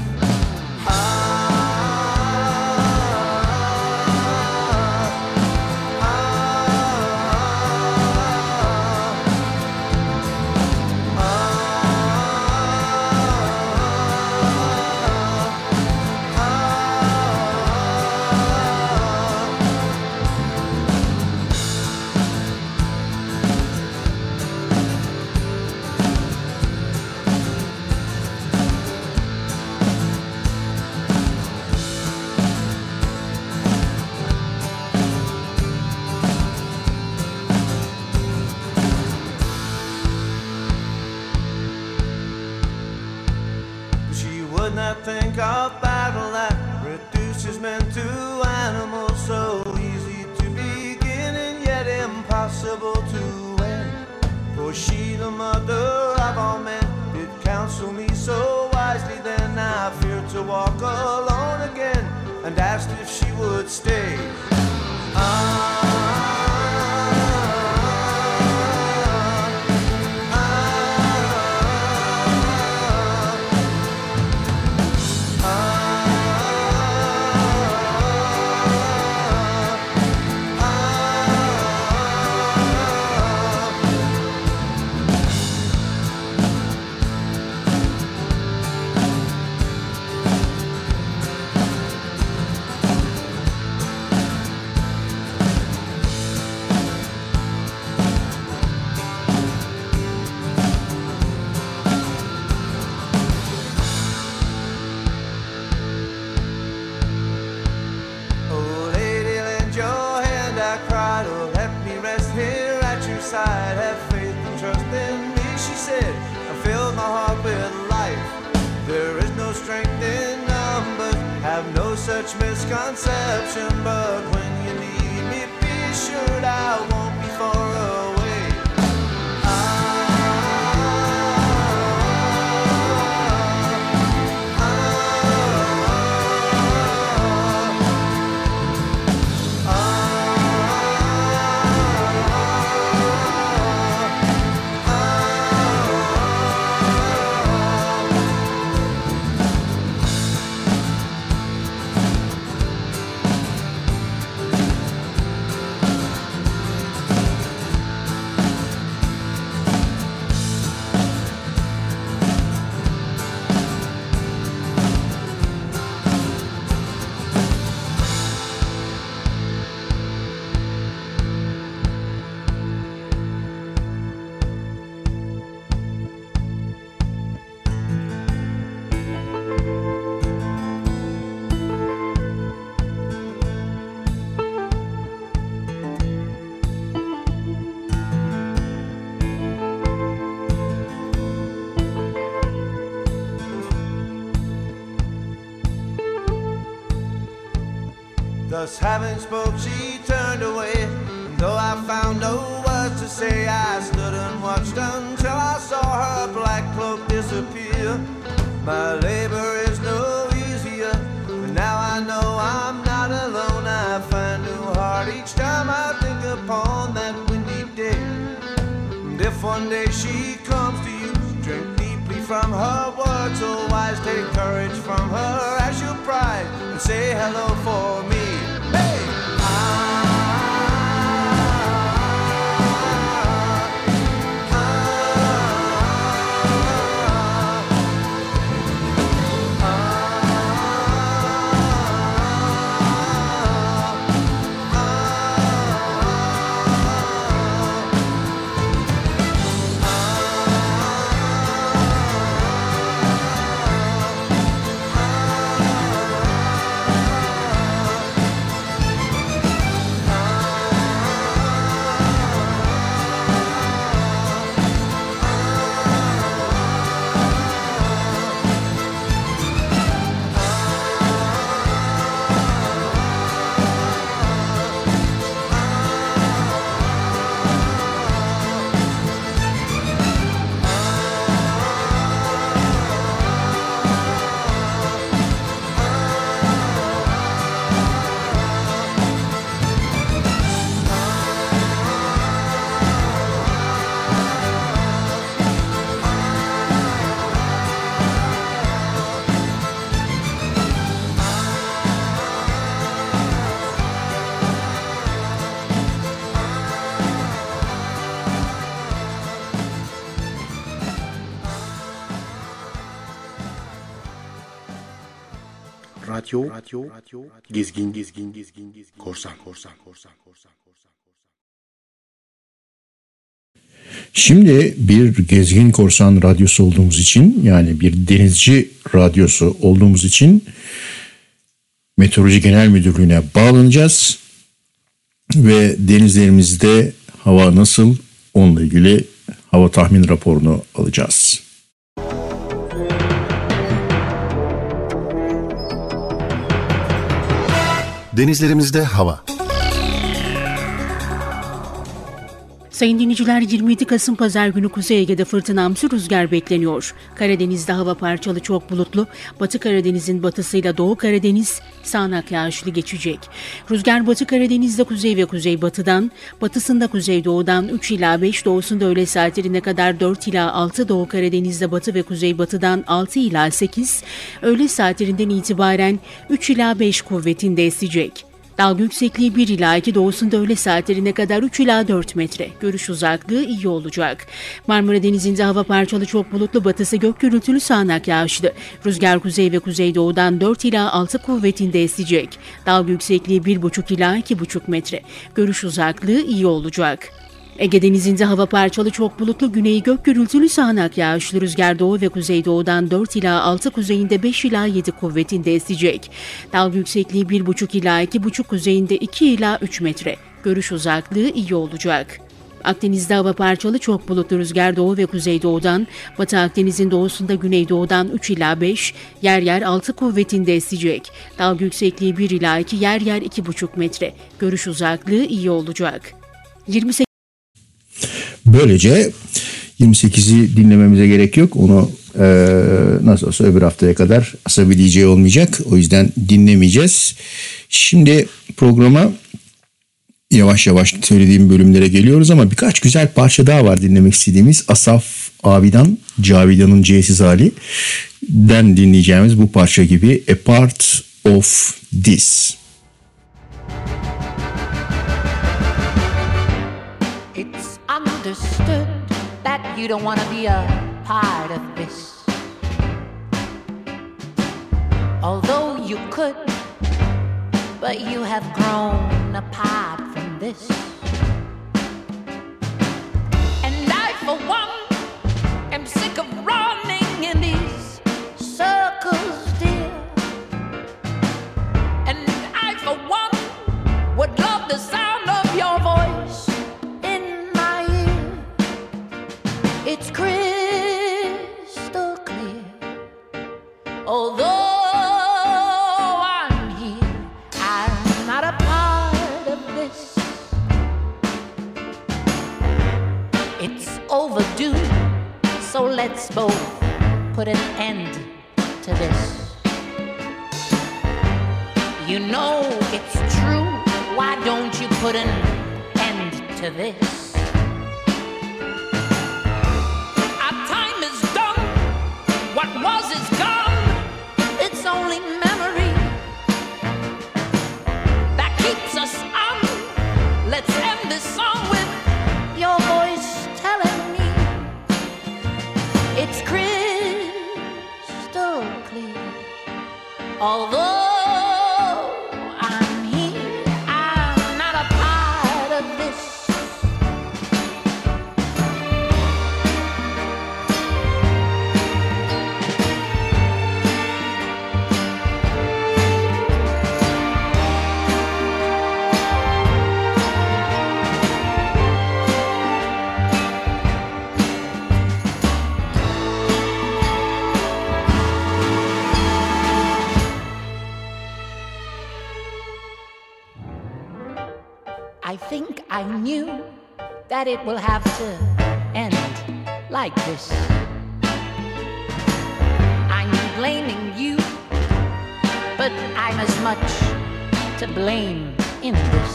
Think of battle that reduces men to animals, so easy to begin and yet impossible to end. For she, the mother of all men, did counsel me so wisely. Then I feared to walk alone again and asked if she would stay. have no such misconception, but when you need me, be assured I won't be far away. Thus having spoke, she turned away, and though I found no words to say, I stood and watched until I saw her black cloak disappear. My labor is no easier, but now I know I'm not alone. I find new heart each time I think upon that windy day. And if one day she comes to you, drink deeply from her words, so wise, take courage from her as your pride, and say hello for me. Hey! Radyo Gezgin Korsan. Şimdi bir gezgin korsan radyosu olduğumuz için, yani bir denizci radyosu olduğumuz için Meteoroloji Genel Müdürlüğü'ne bağlanacağız ve denizlerimizde hava nasıl, onunla ilgili hava tahmin raporunu alacağız. Denizlerimizde hava. Sayın dinleyiciler, 27 Kasım Pazar günü Kuzey Ege'de fırtınamsı rüzgar bekleniyor. Karadeniz'de hava parçalı çok bulutlu, Batı Karadeniz'in batısıyla Doğu Karadeniz sağanak yağışlı geçecek. Rüzgar Batı Karadeniz'de kuzey ve kuzeybatıdan, batısında kuzeydoğudan 3 ila 5, doğusunda öğle saatlerine kadar 4 ila 6, Doğu Karadeniz'de batı ve kuzeybatıdan 6 ila 8, öğle saatlerinden itibaren 3 ila 5 kuvvetinde esecek. Dalga yüksekliği 1 ila 2, doğusunda öğle saatlerine kadar 3 ila 4 metre. Görüş uzaklığı iyi olacak. Marmara Denizi'nde hava parçalı çok bulutlu, batısı gök gürültülü sağanak yağışlı. Rüzgar kuzey ve kuzeydoğudan 4 ila 6 kuvvetinde esecek. Dalga yüksekliği 1,5 ila 2,5 metre. Görüş uzaklığı iyi olacak. Ege Denizi'nde hava parçalı çok bulutlu, güneyi gök gürültülü sağanak yağışlı, rüzgar doğu ve kuzeydoğudan 4 ila 6, kuzeyinde 5 ila 7 kuvvetinde esecek. Dalga yüksekliği 1,5 ila 2,5, kuzeyinde 2 ila 3 metre. Görüş uzaklığı iyi olacak. Akdeniz'de hava parçalı, çok bulutlu, rüzgar doğu ve kuzeydoğudan, Batı Akdeniz'in doğusunda güneydoğudan 3 ila 5, yer yer 6 kuvvetinde esecek. Dalga yüksekliği 1 ila 2, yer yer 2,5 metre. Görüş uzaklığı iyi olacak. 28. Böylece 28'i dinlememize gerek yok. Onu nasıl olsa öbür haftaya kadar Asabi DJ olmayacak. O yüzden dinlemeyeceğiz. Şimdi programa yavaş yavaş söylediğim bölümlere geliyoruz ama birkaç güzel parça daha var dinlemek istediğimiz. Asaf Abi'den Cavidan'ın C'siz hali'den dinleyeceğimiz bu parça gibi A Part of This. It's understood that you don't want to be a part of this. Although you could, but you have grown apart from this. And I, for one, am sick of running in these circles, dear. And I, for one, would love the sound of your voice in my ear. It's crystal clear. Although overdue, so let's both put an end to this. You know it's true, why don't you put an end to this? Our time is done, what was is gone, it's only memory that keeps us on. Let's end this song with your voice telling me it's crystal clear. Although I'm here, I'm not a part of this. I think I knew that it will have to end like this. I'm blaming you, but I'm as much to blame in this.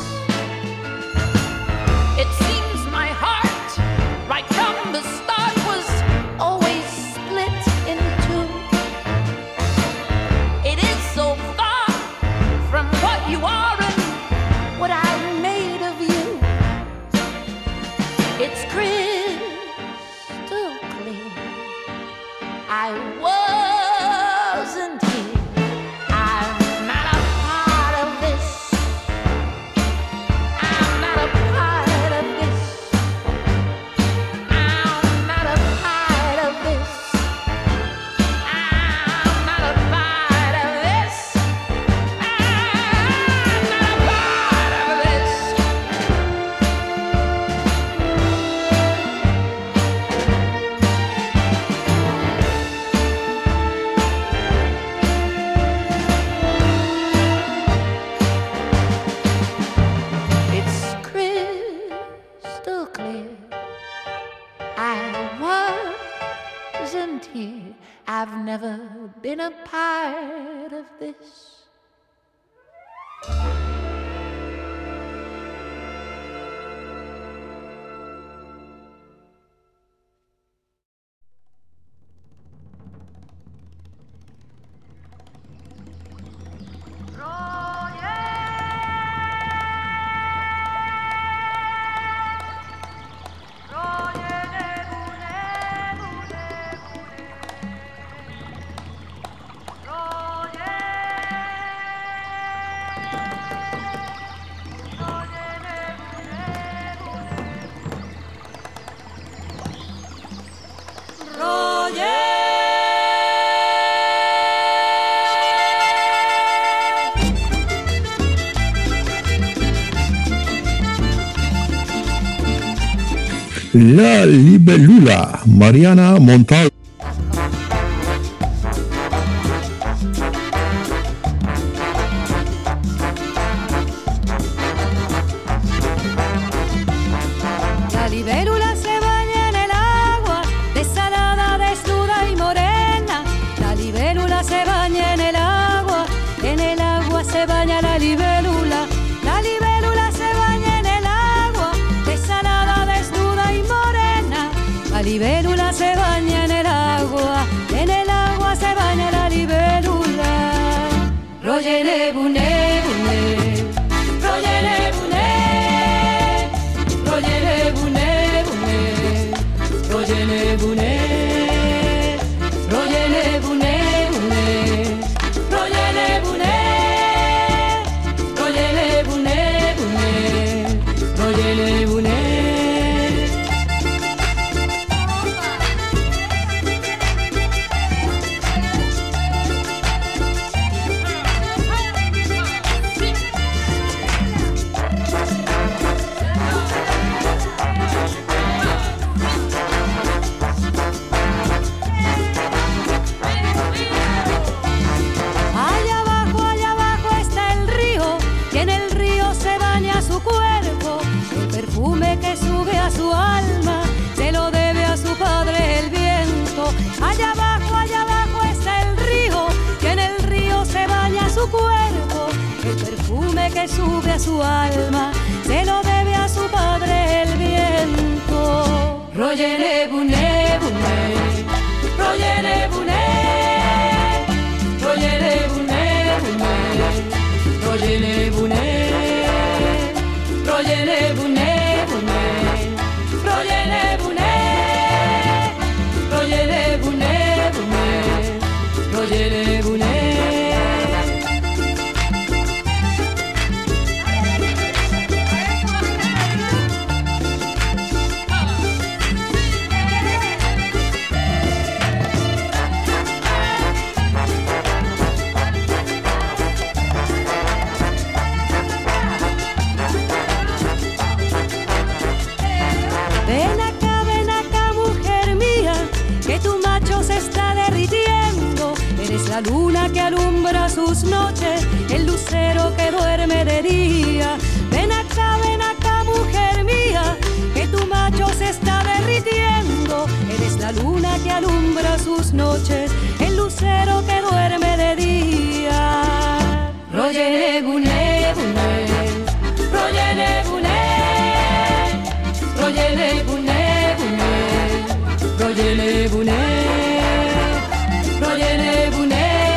It seems my heart, right from the start, was always split in two. It is so far from what you are and what I made of you. It's crystal clear. I wasn't here. I'm not a part of this. I'm not a part of this. I'm not a part of this. I'm not a part of this. I'm not a part of this. It's crystal clear. I wasn't here. I've never been a part of this. La Libélula, Mariana Montalvo. La libélula se baña en el agua, desalada, desnuda y morena. La libélula se baña en el agua se baña la libélula. La libélula se baña en el agua, desalada, desnuda y morena. La libélula se baña en el agua se baña la libélula. Royele bune bune, royele bune, royele bune bune, royele bune, royele bune bune, royele bune, royele bune bune, royele bune. Que sube a su alma, se lo debe a su padre el viento. Allá abajo está el río, y en el río se baña su cuerpo. El perfume que sube a su alma, se lo debe a su padre el viento. Royele bune bune, royele bune, royele bune bune, royele bune, royele bune. Royele bune, royele bune bune, royele bune. La luna que alumbra sus noches, el lucero que duerme de día. Ven acá, mujer mía, que tu macho se está derritiendo. Eres la luna que alumbra sus noches, el lucero que duerme de día. Royele bune bune, royele bune, royele bune bune, royele bune, royele bune.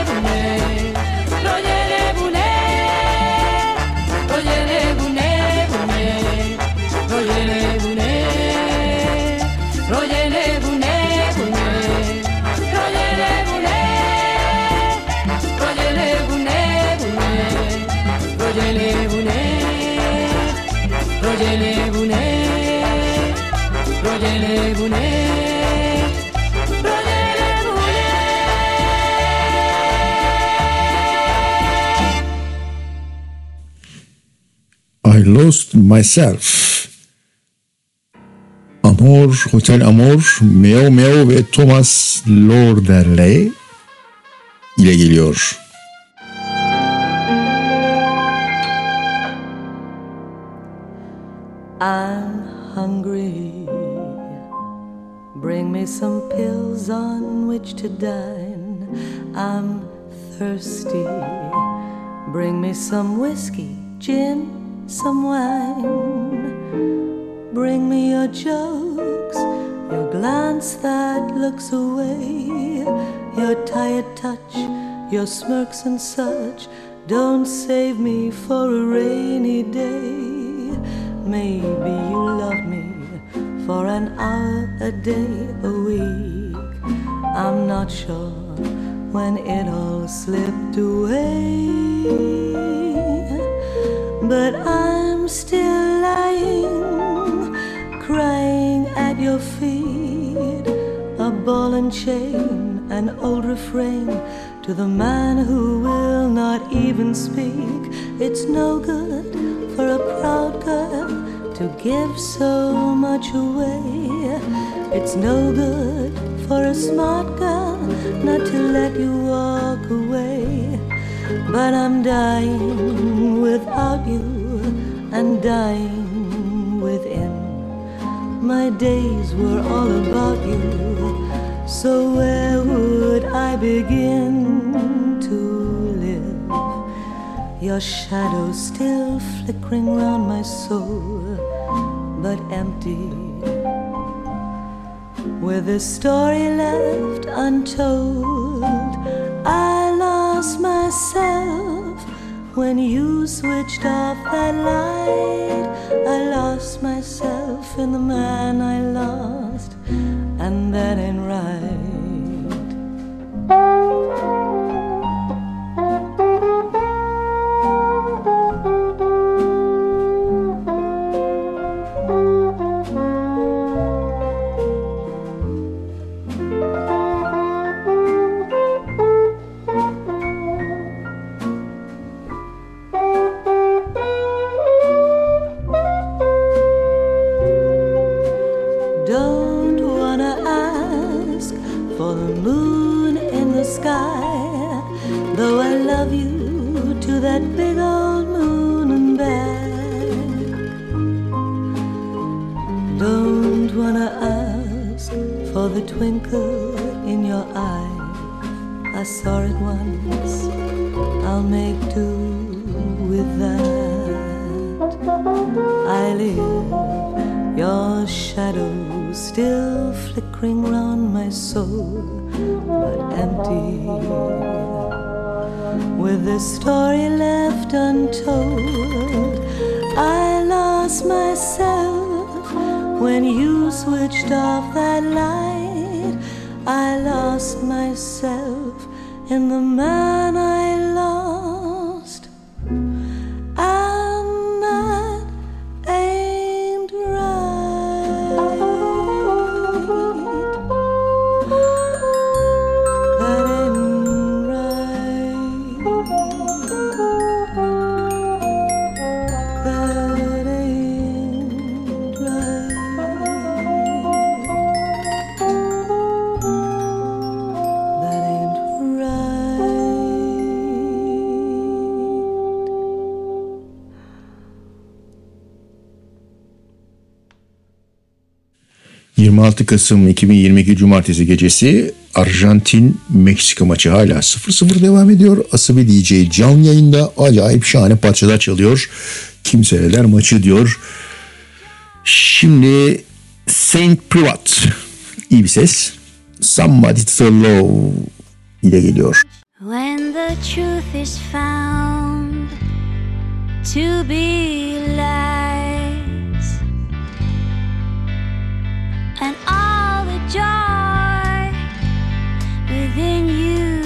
Royele bune, royele bune, royele bune. I Lost Myself. Amor, Hotel Amor, Meo Meo ve Thomas Lorderley ile geliyor. I'm hungry. Bring me some pills on which to dine. I'm thirsty. Bring me some whiskey, gin, some wine. Bring me your jokes, your glance that looks away, your tired touch, your smirks and such. Don't save me for a rainy day. Maybe you love me for an hour, a day, a week. I'm not sure when it all slipped away, but I'm still lying, crying at your feet. A ball and chain, an old refrain to the man who will not even speak. It's no good for a proud girl to give so much away. It's no good for a smart girl not to let you walk away. But I'm dying without you and dying within. My days were all about you, so where would I begin to live? Your shadow still flickering round my soul, but empty, with a story left untold. I lost myself when you switched off that light. I lost myself in the man I lost, and that ain't right. In the man I lost, and that ain't right. That ain't right. That ain't right. ...26 Kasım 2022 Cumartesi gecesi Arjantin-Meksika maçı hala 0-0 devam ediyor. Asabi DJ canlı yayında acayip şahane parçalar çalıyor. Kim seyreder maçı diyor. Şimdi Saint Privat, iyi bir ses. Somebody to Love ile geliyor. When the truth is found to be lies, and all the joy within you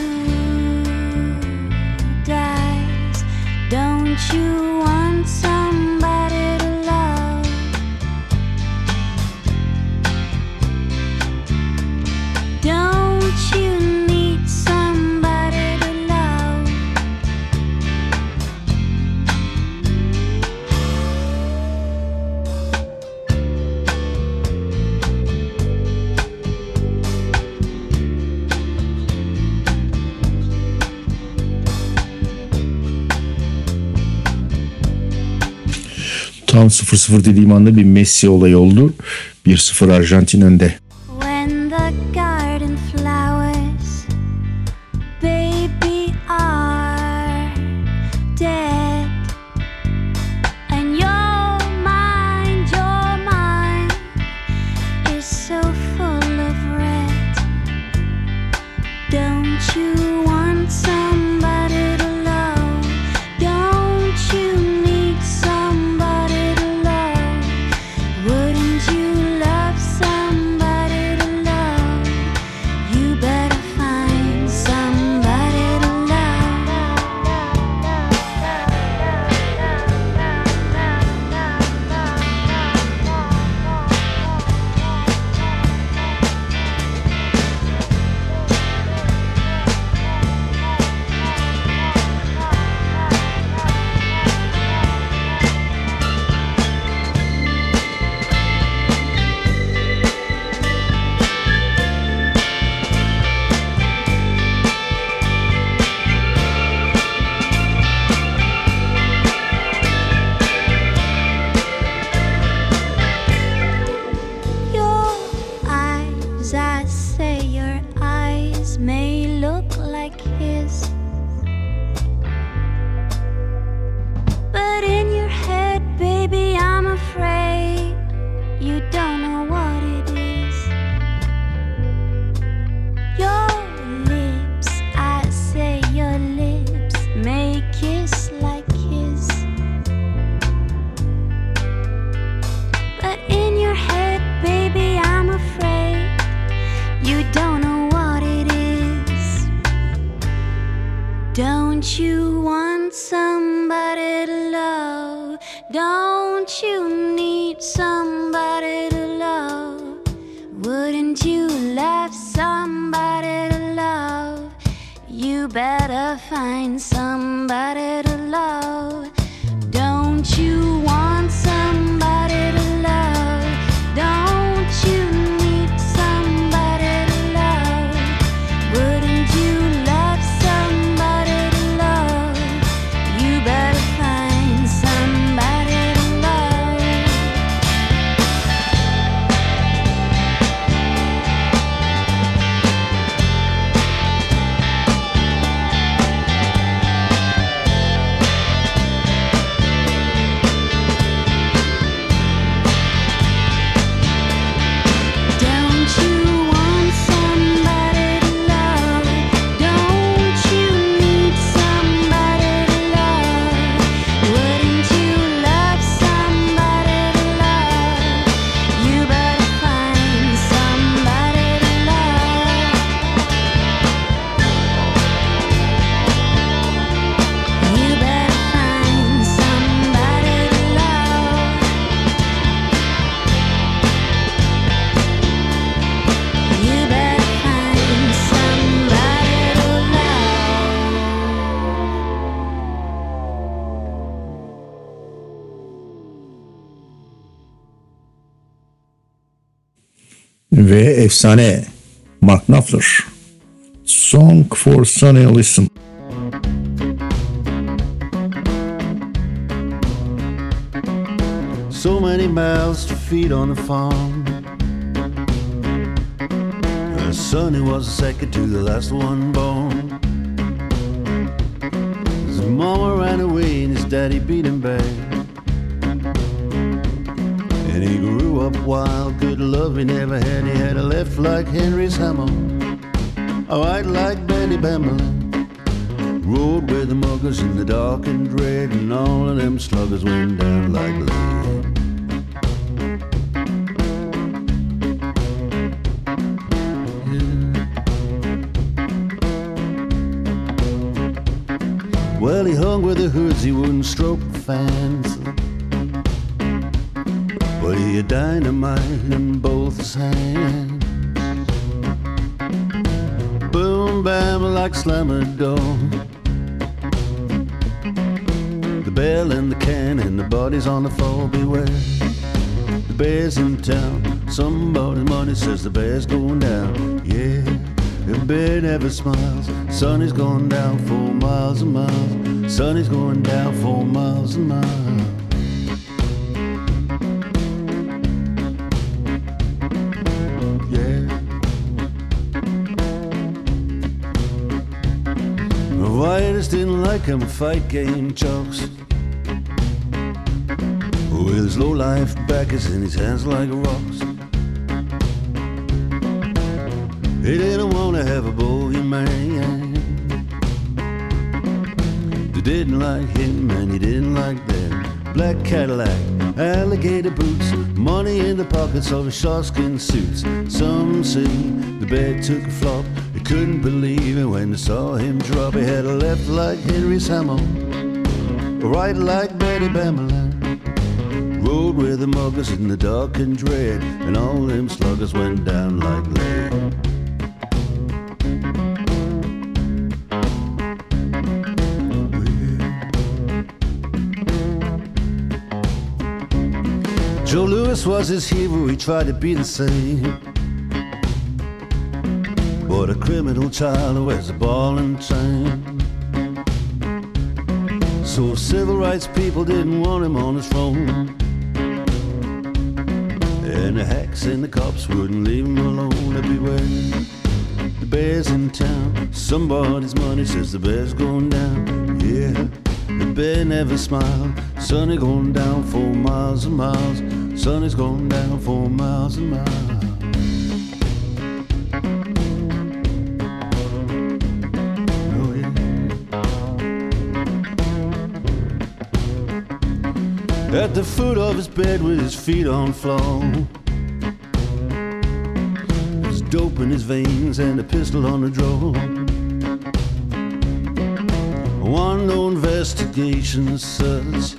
dies, don't you want somebody to love? Don't you need somebody to love? Tam 0-0 dediğim anda bir Messi olayı oldu. 1-0 Arjantin önde. When the garden flowers, baby, are dead, and your mind is so full of red, don't you want somebody to love? Don't you need somebody to love? Wouldn't you love somebody? you want somebody to love? Don't you need somebody to love? Wouldn't you love somebody to love? You better find somebody to love. Don't you want somebody to love? Don't you need somebody to love? Wouldn't you love somebody to love? You better find somebody to love. Don't you want somebody to love? Don't you need somebody to love? Wouldn't you love somebody to love? You better find somebody to love. You better find somebody to love. You better find somebody to Ve efsane Mark Knopfler, Song for Sonny Liston. So many mouths to feed on the farm. Sonny was the second to the last one born. His mama ran away and his daddy beat him back. And he grew up wild, good love he never had. He had a left like Henry's hammer, a right like Betty Bamberlin. Rode with the muggers in the dark and dread, and all of them sluggers went down like lead. Well, he hung with the hoods, he wouldn't stroke the fans, but he had dynamite in both his hands. Boom, bam, like slammer door. The bell and the can and the bodies on the floor, beware. The bear's in town, somebody's money says the bear's going down. Yeah, the bear never smiles. Sonny's going down 4 miles and miles. Sonny's going down 4 miles and miles. Yeah. The Whiters didn't like him, fight game chokes. With his low life backers in his hands like rocks. He didn't want to have a bogeyman. They didn't like him and he didn't like them. Black Cadillac, alligator boots, money in the pockets of his sharkskin suits. Some say the bear took a flop. They couldn't believe it when they saw him drop. He had a left like Henry's hammer, a right like Betty Bamberlin. Rode with the muggers in the dark and dread, and all them sluggers went down like lead. Joe Louis was his hero, he tried to be the same. But a criminal child who wears a ball and chain. So civil rights people didn't want him on his throne. And the hacks and the cops wouldn't leave him alone. Everywhere the bear's in town, somebody's money says the bear's going down. Yeah, the bear never smiled. Sonny going down 4 miles and miles. Sonny's going down 4 miles and miles. Oh yeah. At the foot of his bed with his feet on the floor, there's dope in his veins and a pistol on the drawer. want no investigation as such.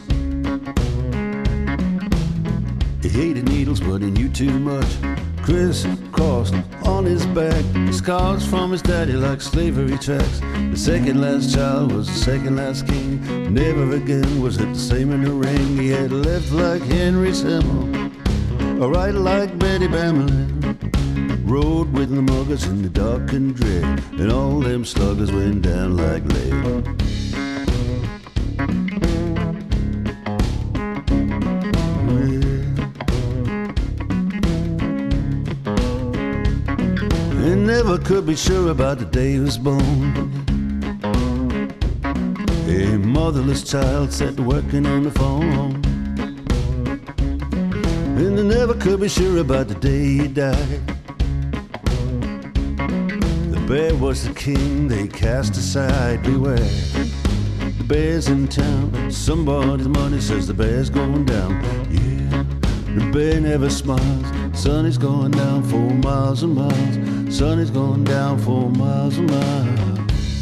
He hated needles, but he knew too much. Crisscrossed on his back, scars from his daddy like slavery tracks. The second last child was the second last king. Never again was it the same in the ring. He had left like Henry Semmel, or right like Betty Bamlin. Rode with the muggers in the dark and dread, and all them sluggers went down like lead. Never could be sure about the day he was born. A motherless child set to working on the phone, and they never could be sure about the day he died. The bear was the king they cast aside. Beware, the bear's in town. Somebody's money says the bear's going down. Yeah, the bear never smiles. Sun is going down for miles and miles. Sun is going down for miles and miles.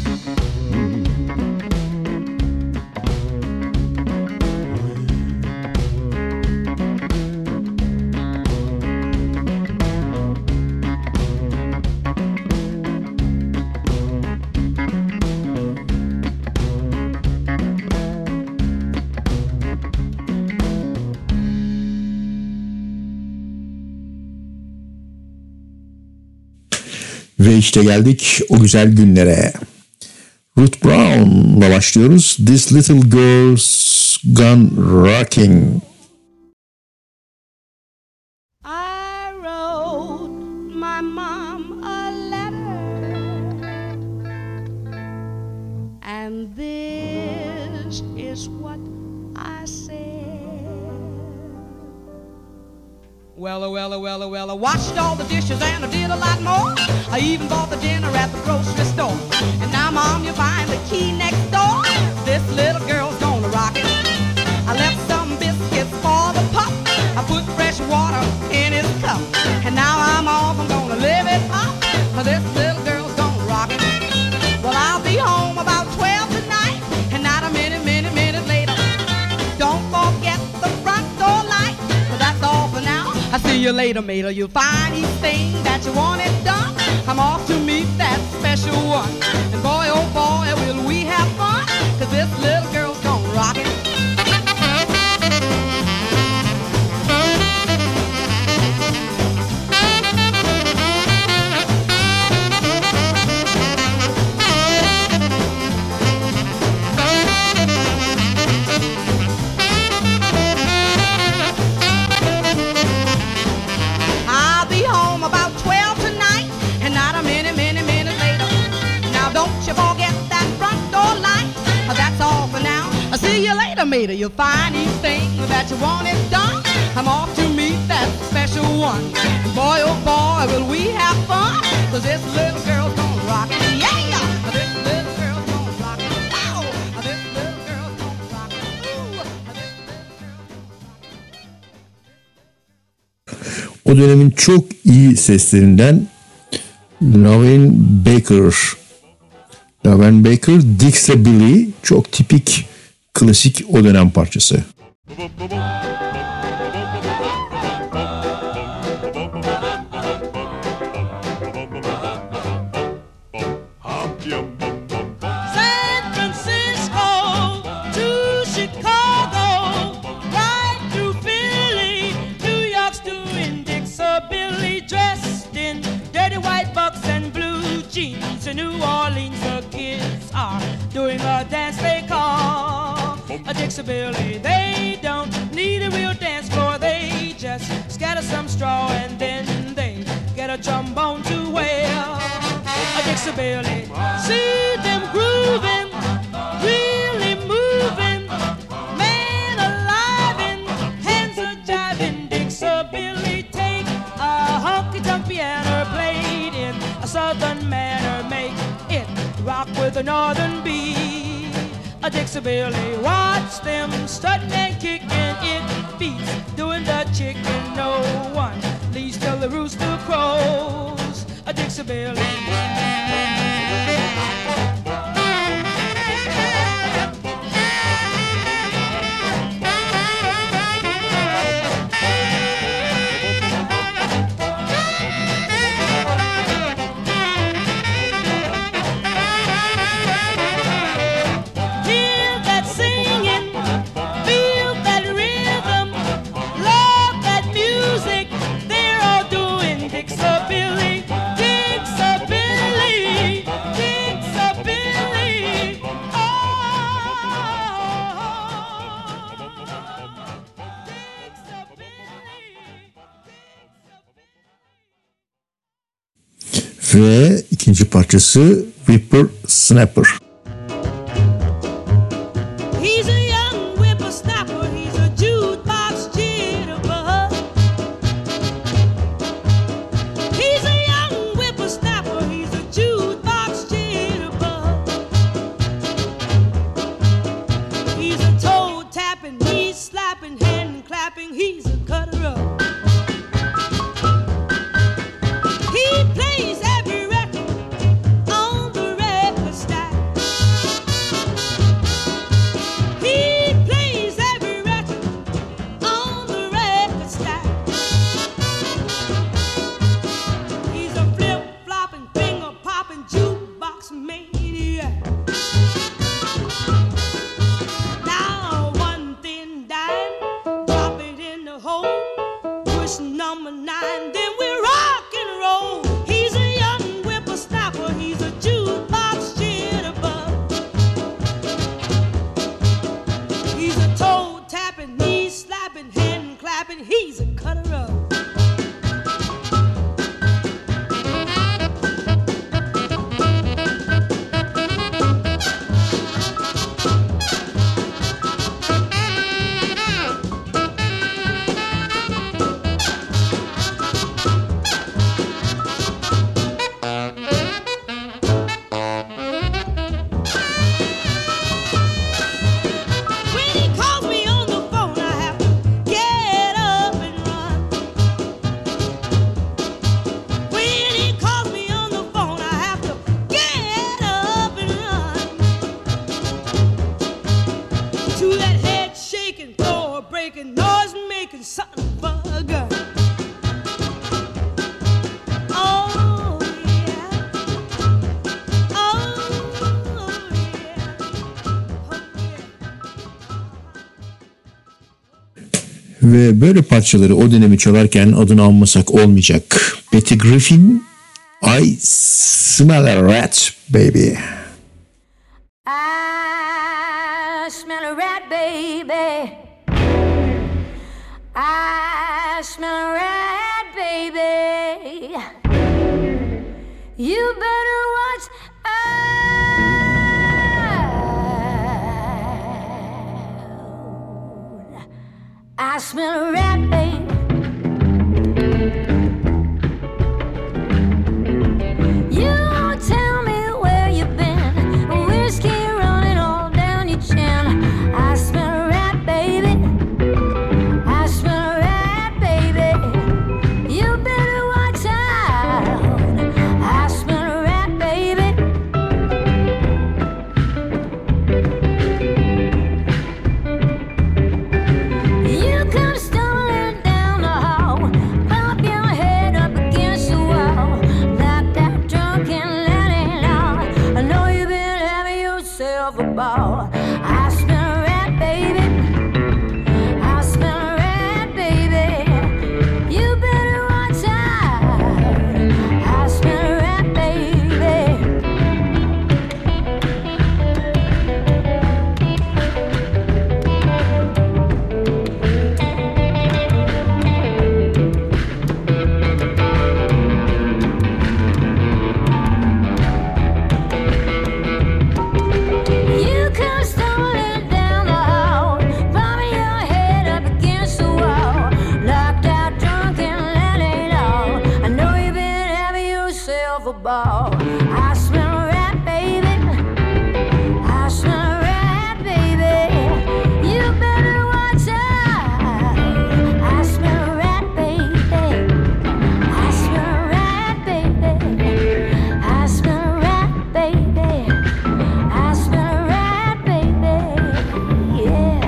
Ve işte geldik o güzel günlere. Ruth Brown'la başlıyoruz. This Little Girl's Gone Rocking. I wrote my mom a letter, and this is what I said. Well, I washed all the dishes and I did a lot more. I even bought the dinner at the grocery store. And now, Mom, you're buying the key next door. This little girl's gonna rock it. I left some biscuits for the pup. I put fresh water in his cup. And now I'm off, I'm gonna live it up. This little girl's gonna rock it. Well, I'll be home about 12 tonight, and not a minute later. Don't forget the front door light. But that's all for now. I'll see you later, mater. You'll find each thing that you wanted done. I'm off to meet that special one. And boy, oh boy, will we have fun. 'Cause this little girl's gonna rock it. I'll be home about 12 tonight, and not a minute later. Now don't you forget that front door light. That's all for now. I'll see you later, mater. You'll find each thing that you wanted done. I'm off to meet that special one. And boy, oh boy, will we have fun. 'Cause this little girl's gonna rock it. Yeah! This little girl's gonna rock it. Wow! This little girl's gonna rock it. Ooh! O dönemin çok iyi seslerinden Laverne Baker. Laverne Baker, Dixie çok tipik klasik o dönem parçası. San Francisco to Chicago, right through Philly, New York's doing Dixie dressed in dirty white bucks and blue jeans. In New Orleans, the kids are doing a dance they call a Dixie. They don't need a real dance floor, they just scatter some straw and then they get a trombone to wear a Dixie. See them grooving, really moving, man alive and hands are jiving. Dixie take a honky-tonk piano played in a southern manner, make it rock with a northern beat. A Dixie, watch them strutting and kicking, it beats doing the chicken. No one leaves till the rooster crows. A Dixie. Ve ikinci parçası Whipper Snapper. He's a young whippersnapper, he's a jukebox jitterbug. He's a young whippersnapper, he's a jukebox jitterbug. He's a toe tapping, knee slapping, hand clapping, he's a cutter up. He plays every record on the record stack. He plays every record on the record stack. He's a flip-flopping, finger-popping jukebox maniac. Now one thin dime, drop it in the hole, push number 9, then we rock and roll. He's a young whippersnapper, he's a jukebox jitterbug. He's a toe tapping, knee slapping, hand clapping, he's a cutter up. When he calls me on the phone, I have to get up and run. When he calls me on the phone, I have to get up and run. To that head shaking, floor breaking, noise making, something bugger. Oh yeah, oh Ve böyle parçaları o dönemi çalarken adını anmasak olmayacak. Betty Griffin, I Smell a Rat Baby. I smell a rat, baby. I smell a rat, baby. You better watch out. I smell a rat, baby. You tell me where you've been. Whiskey running all down your chin. I smell a rat, baby. I smell a rat, baby. You better watch out. I smell a rat, baby. You come stumbling down the hall, bump your head up against the wall, knocked out drunk and that ain't all. I know you've been having yourself a ball. I smell a rat, baby. I smell a rat, baby. You better watch out. I smell a rat, baby. You come stumbling down the hall, bumping your head up against the wall, knocked out drunk and that ain't all. I know you've been having yourself a ball. I smell a rat, baby. I smell a rat, baby. You better watch out. I smell a rat, baby. I smell a rat, baby. I smell a rat, baby. I smell a rat, baby. Yeah.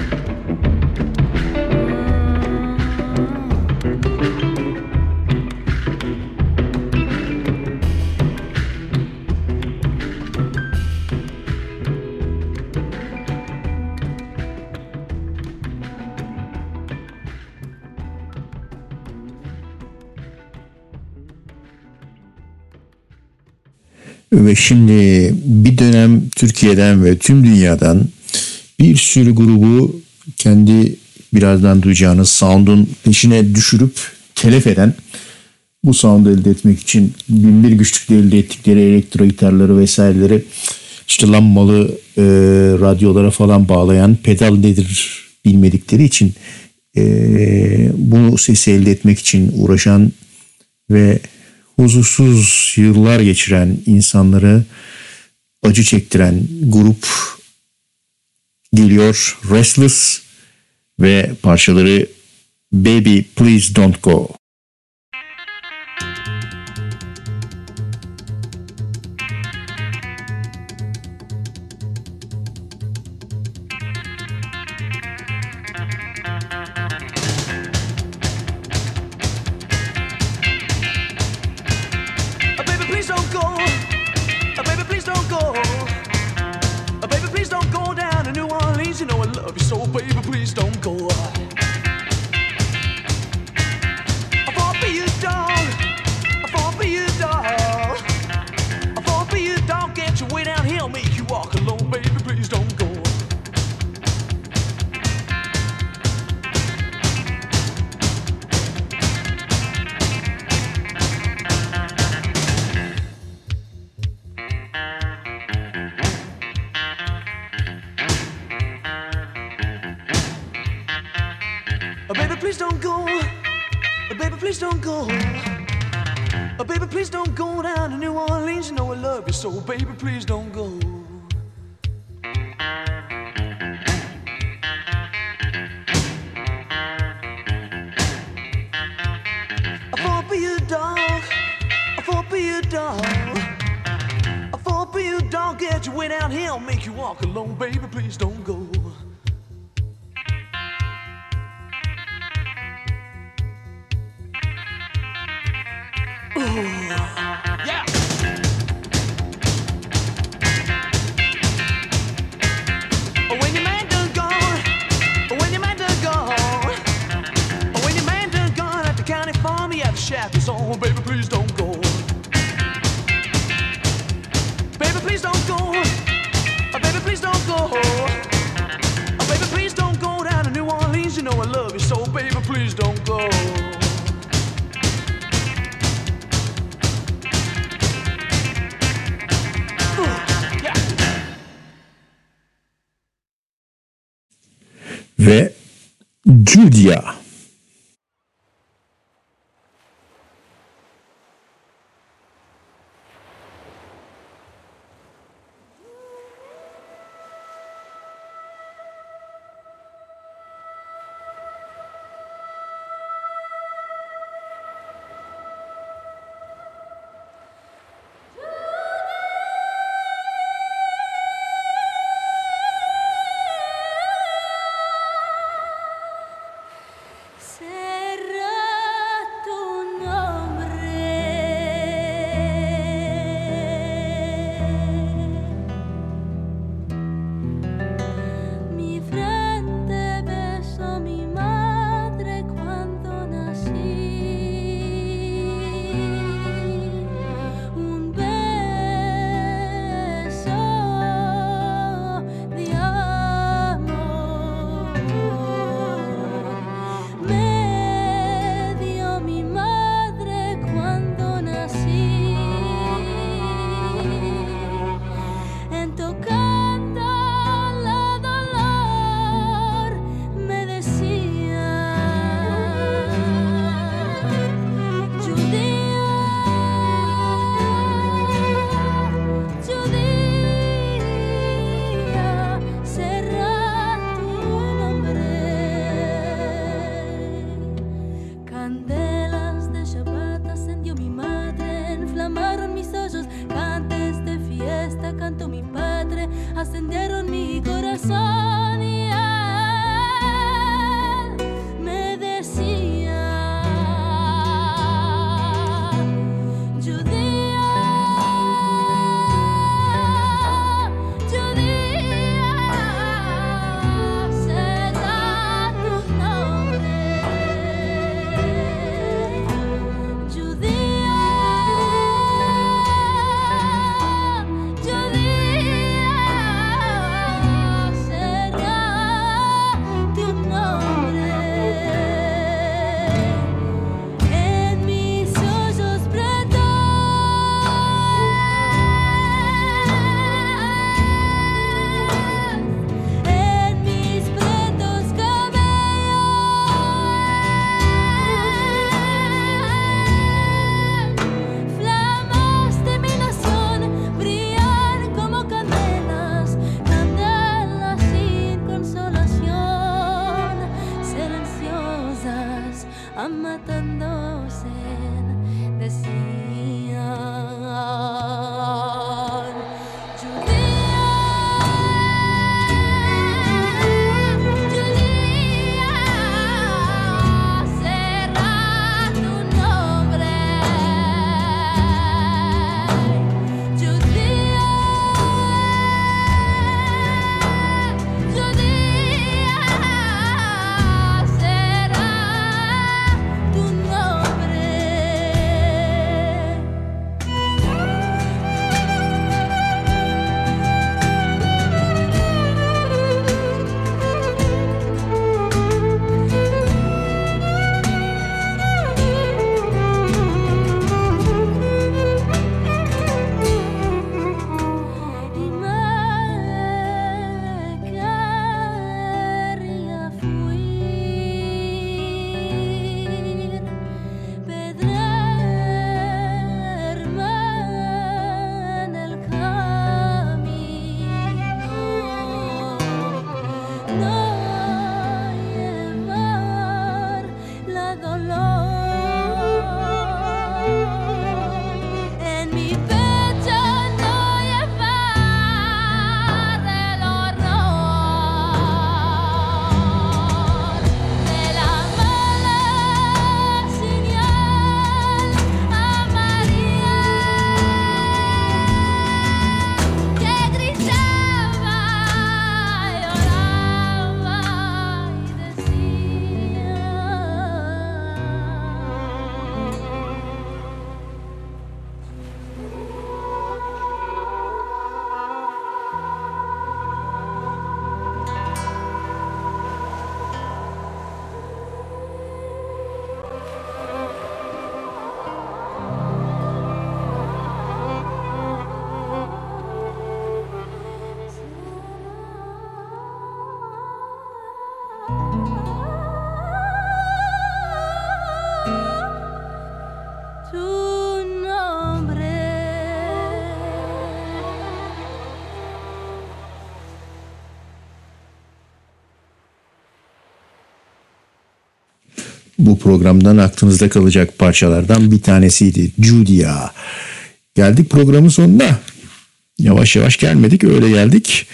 Ve şimdi bir dönem Türkiye'den ve tüm dünyadan bir sürü grubu kendi birazdan duyacağınız sound'un peşine düşürüp telef eden bu sound'u elde etmek için binbir güçlükle elde ettikleri elektro gitarları vesaireleri işte lambalı radyolara falan bağlayan, pedal nedir bilmedikleri için bu sesi elde etmek için uğraşan ve huzursuz yıllar geçiren insanları acı çektiren grup geliyor. Restless ve parçaları Baby Please Don't Go. Baby, please don't go. Baby, please don't go. Baby, please don't go down to New Orleans. You know I love you so. Baby, please don't go. I fall for you, dog. I fall for you, dog. I fall for you, dog. Get your way down here. I'll make you walk alone. Baby, please don't go. Yeah. When your man done gone, when your man done gone, when your man done gone at the county farm, he had the shackles on. Baby, please don't go. Baby, please don't go. Baby, please don't go. Baby, please don't go down to New Orleans. You know I love you so. Baby, please don't go. Ve Julia. van matándose, decían. Bu programdan aklınızda kalacak parçalardan bir tanesiydi. Judia. Geldik programın sonuna. Yavaş yavaş gelmedik, öyle geldik.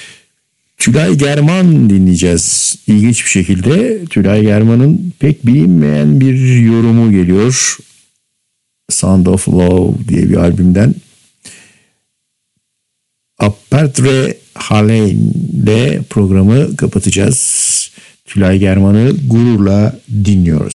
Tülay German dinleyeceğiz. İlginç bir şekilde Tülay German'ın pek bilinmeyen bir yorumu geliyor. Sound of Love diye bir albümden. Apertre Halein ile programı kapatacağız. Tülay German'ı gururla dinliyoruz.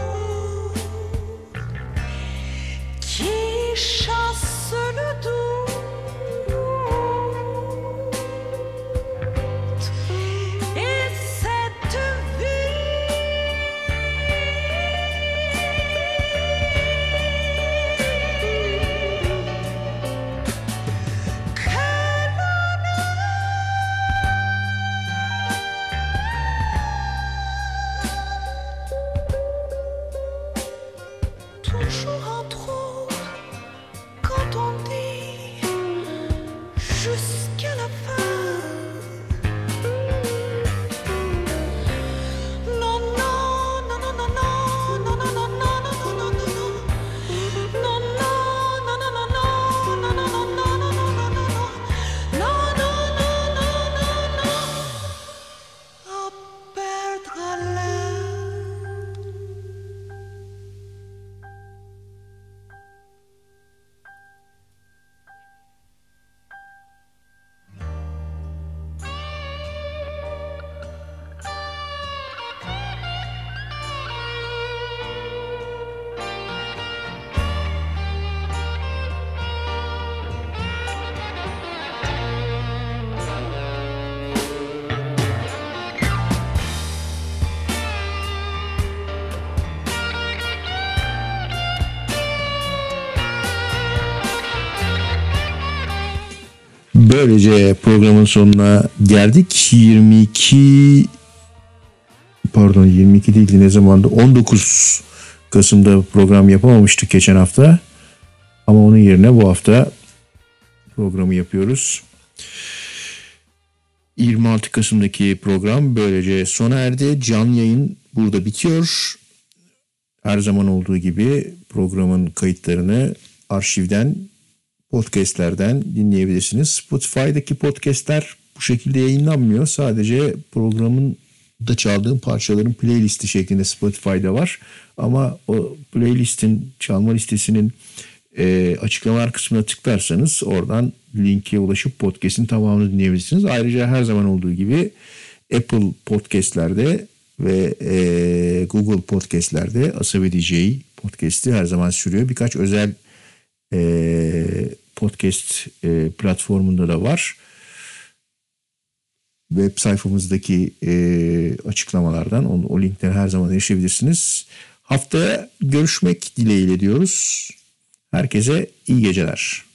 Chasse le doux Böylece programın sonuna geldik. 22 değildi, ne zamandı? 19 Kasım'da program yapamamıştık geçen hafta. Ama onun yerine bu hafta programı yapıyoruz. 26 Kasım'daki program böylece sona erdi. Canlı yayın burada bitiyor. Her zaman olduğu gibi programın kayıtlarını arşivden, podcastlerden dinleyebilirsiniz. Spotify'daki podcastler bu şekilde yayınlanmıyor. Sadece programın da çaldığım parçaların playlisti şeklinde Spotify'da var. Ama o playlistin, çalma listesinin açıklamalar kısmına tıklarsanız oradan linke ulaşıp podcast'in tamamını dinleyebilirsiniz. Ayrıca her zaman olduğu gibi Apple Podcast'lerde ve Google Podcast'lerde Asabi DJ podcast'i her zaman sürüyor. Birkaç özel podcast platformunda da var. Web sayfamızdaki açıklamalardan o linkleri her zaman erişebilirsiniz. Haftaya görüşmek dileğiyle diyoruz. Herkese iyi geceler.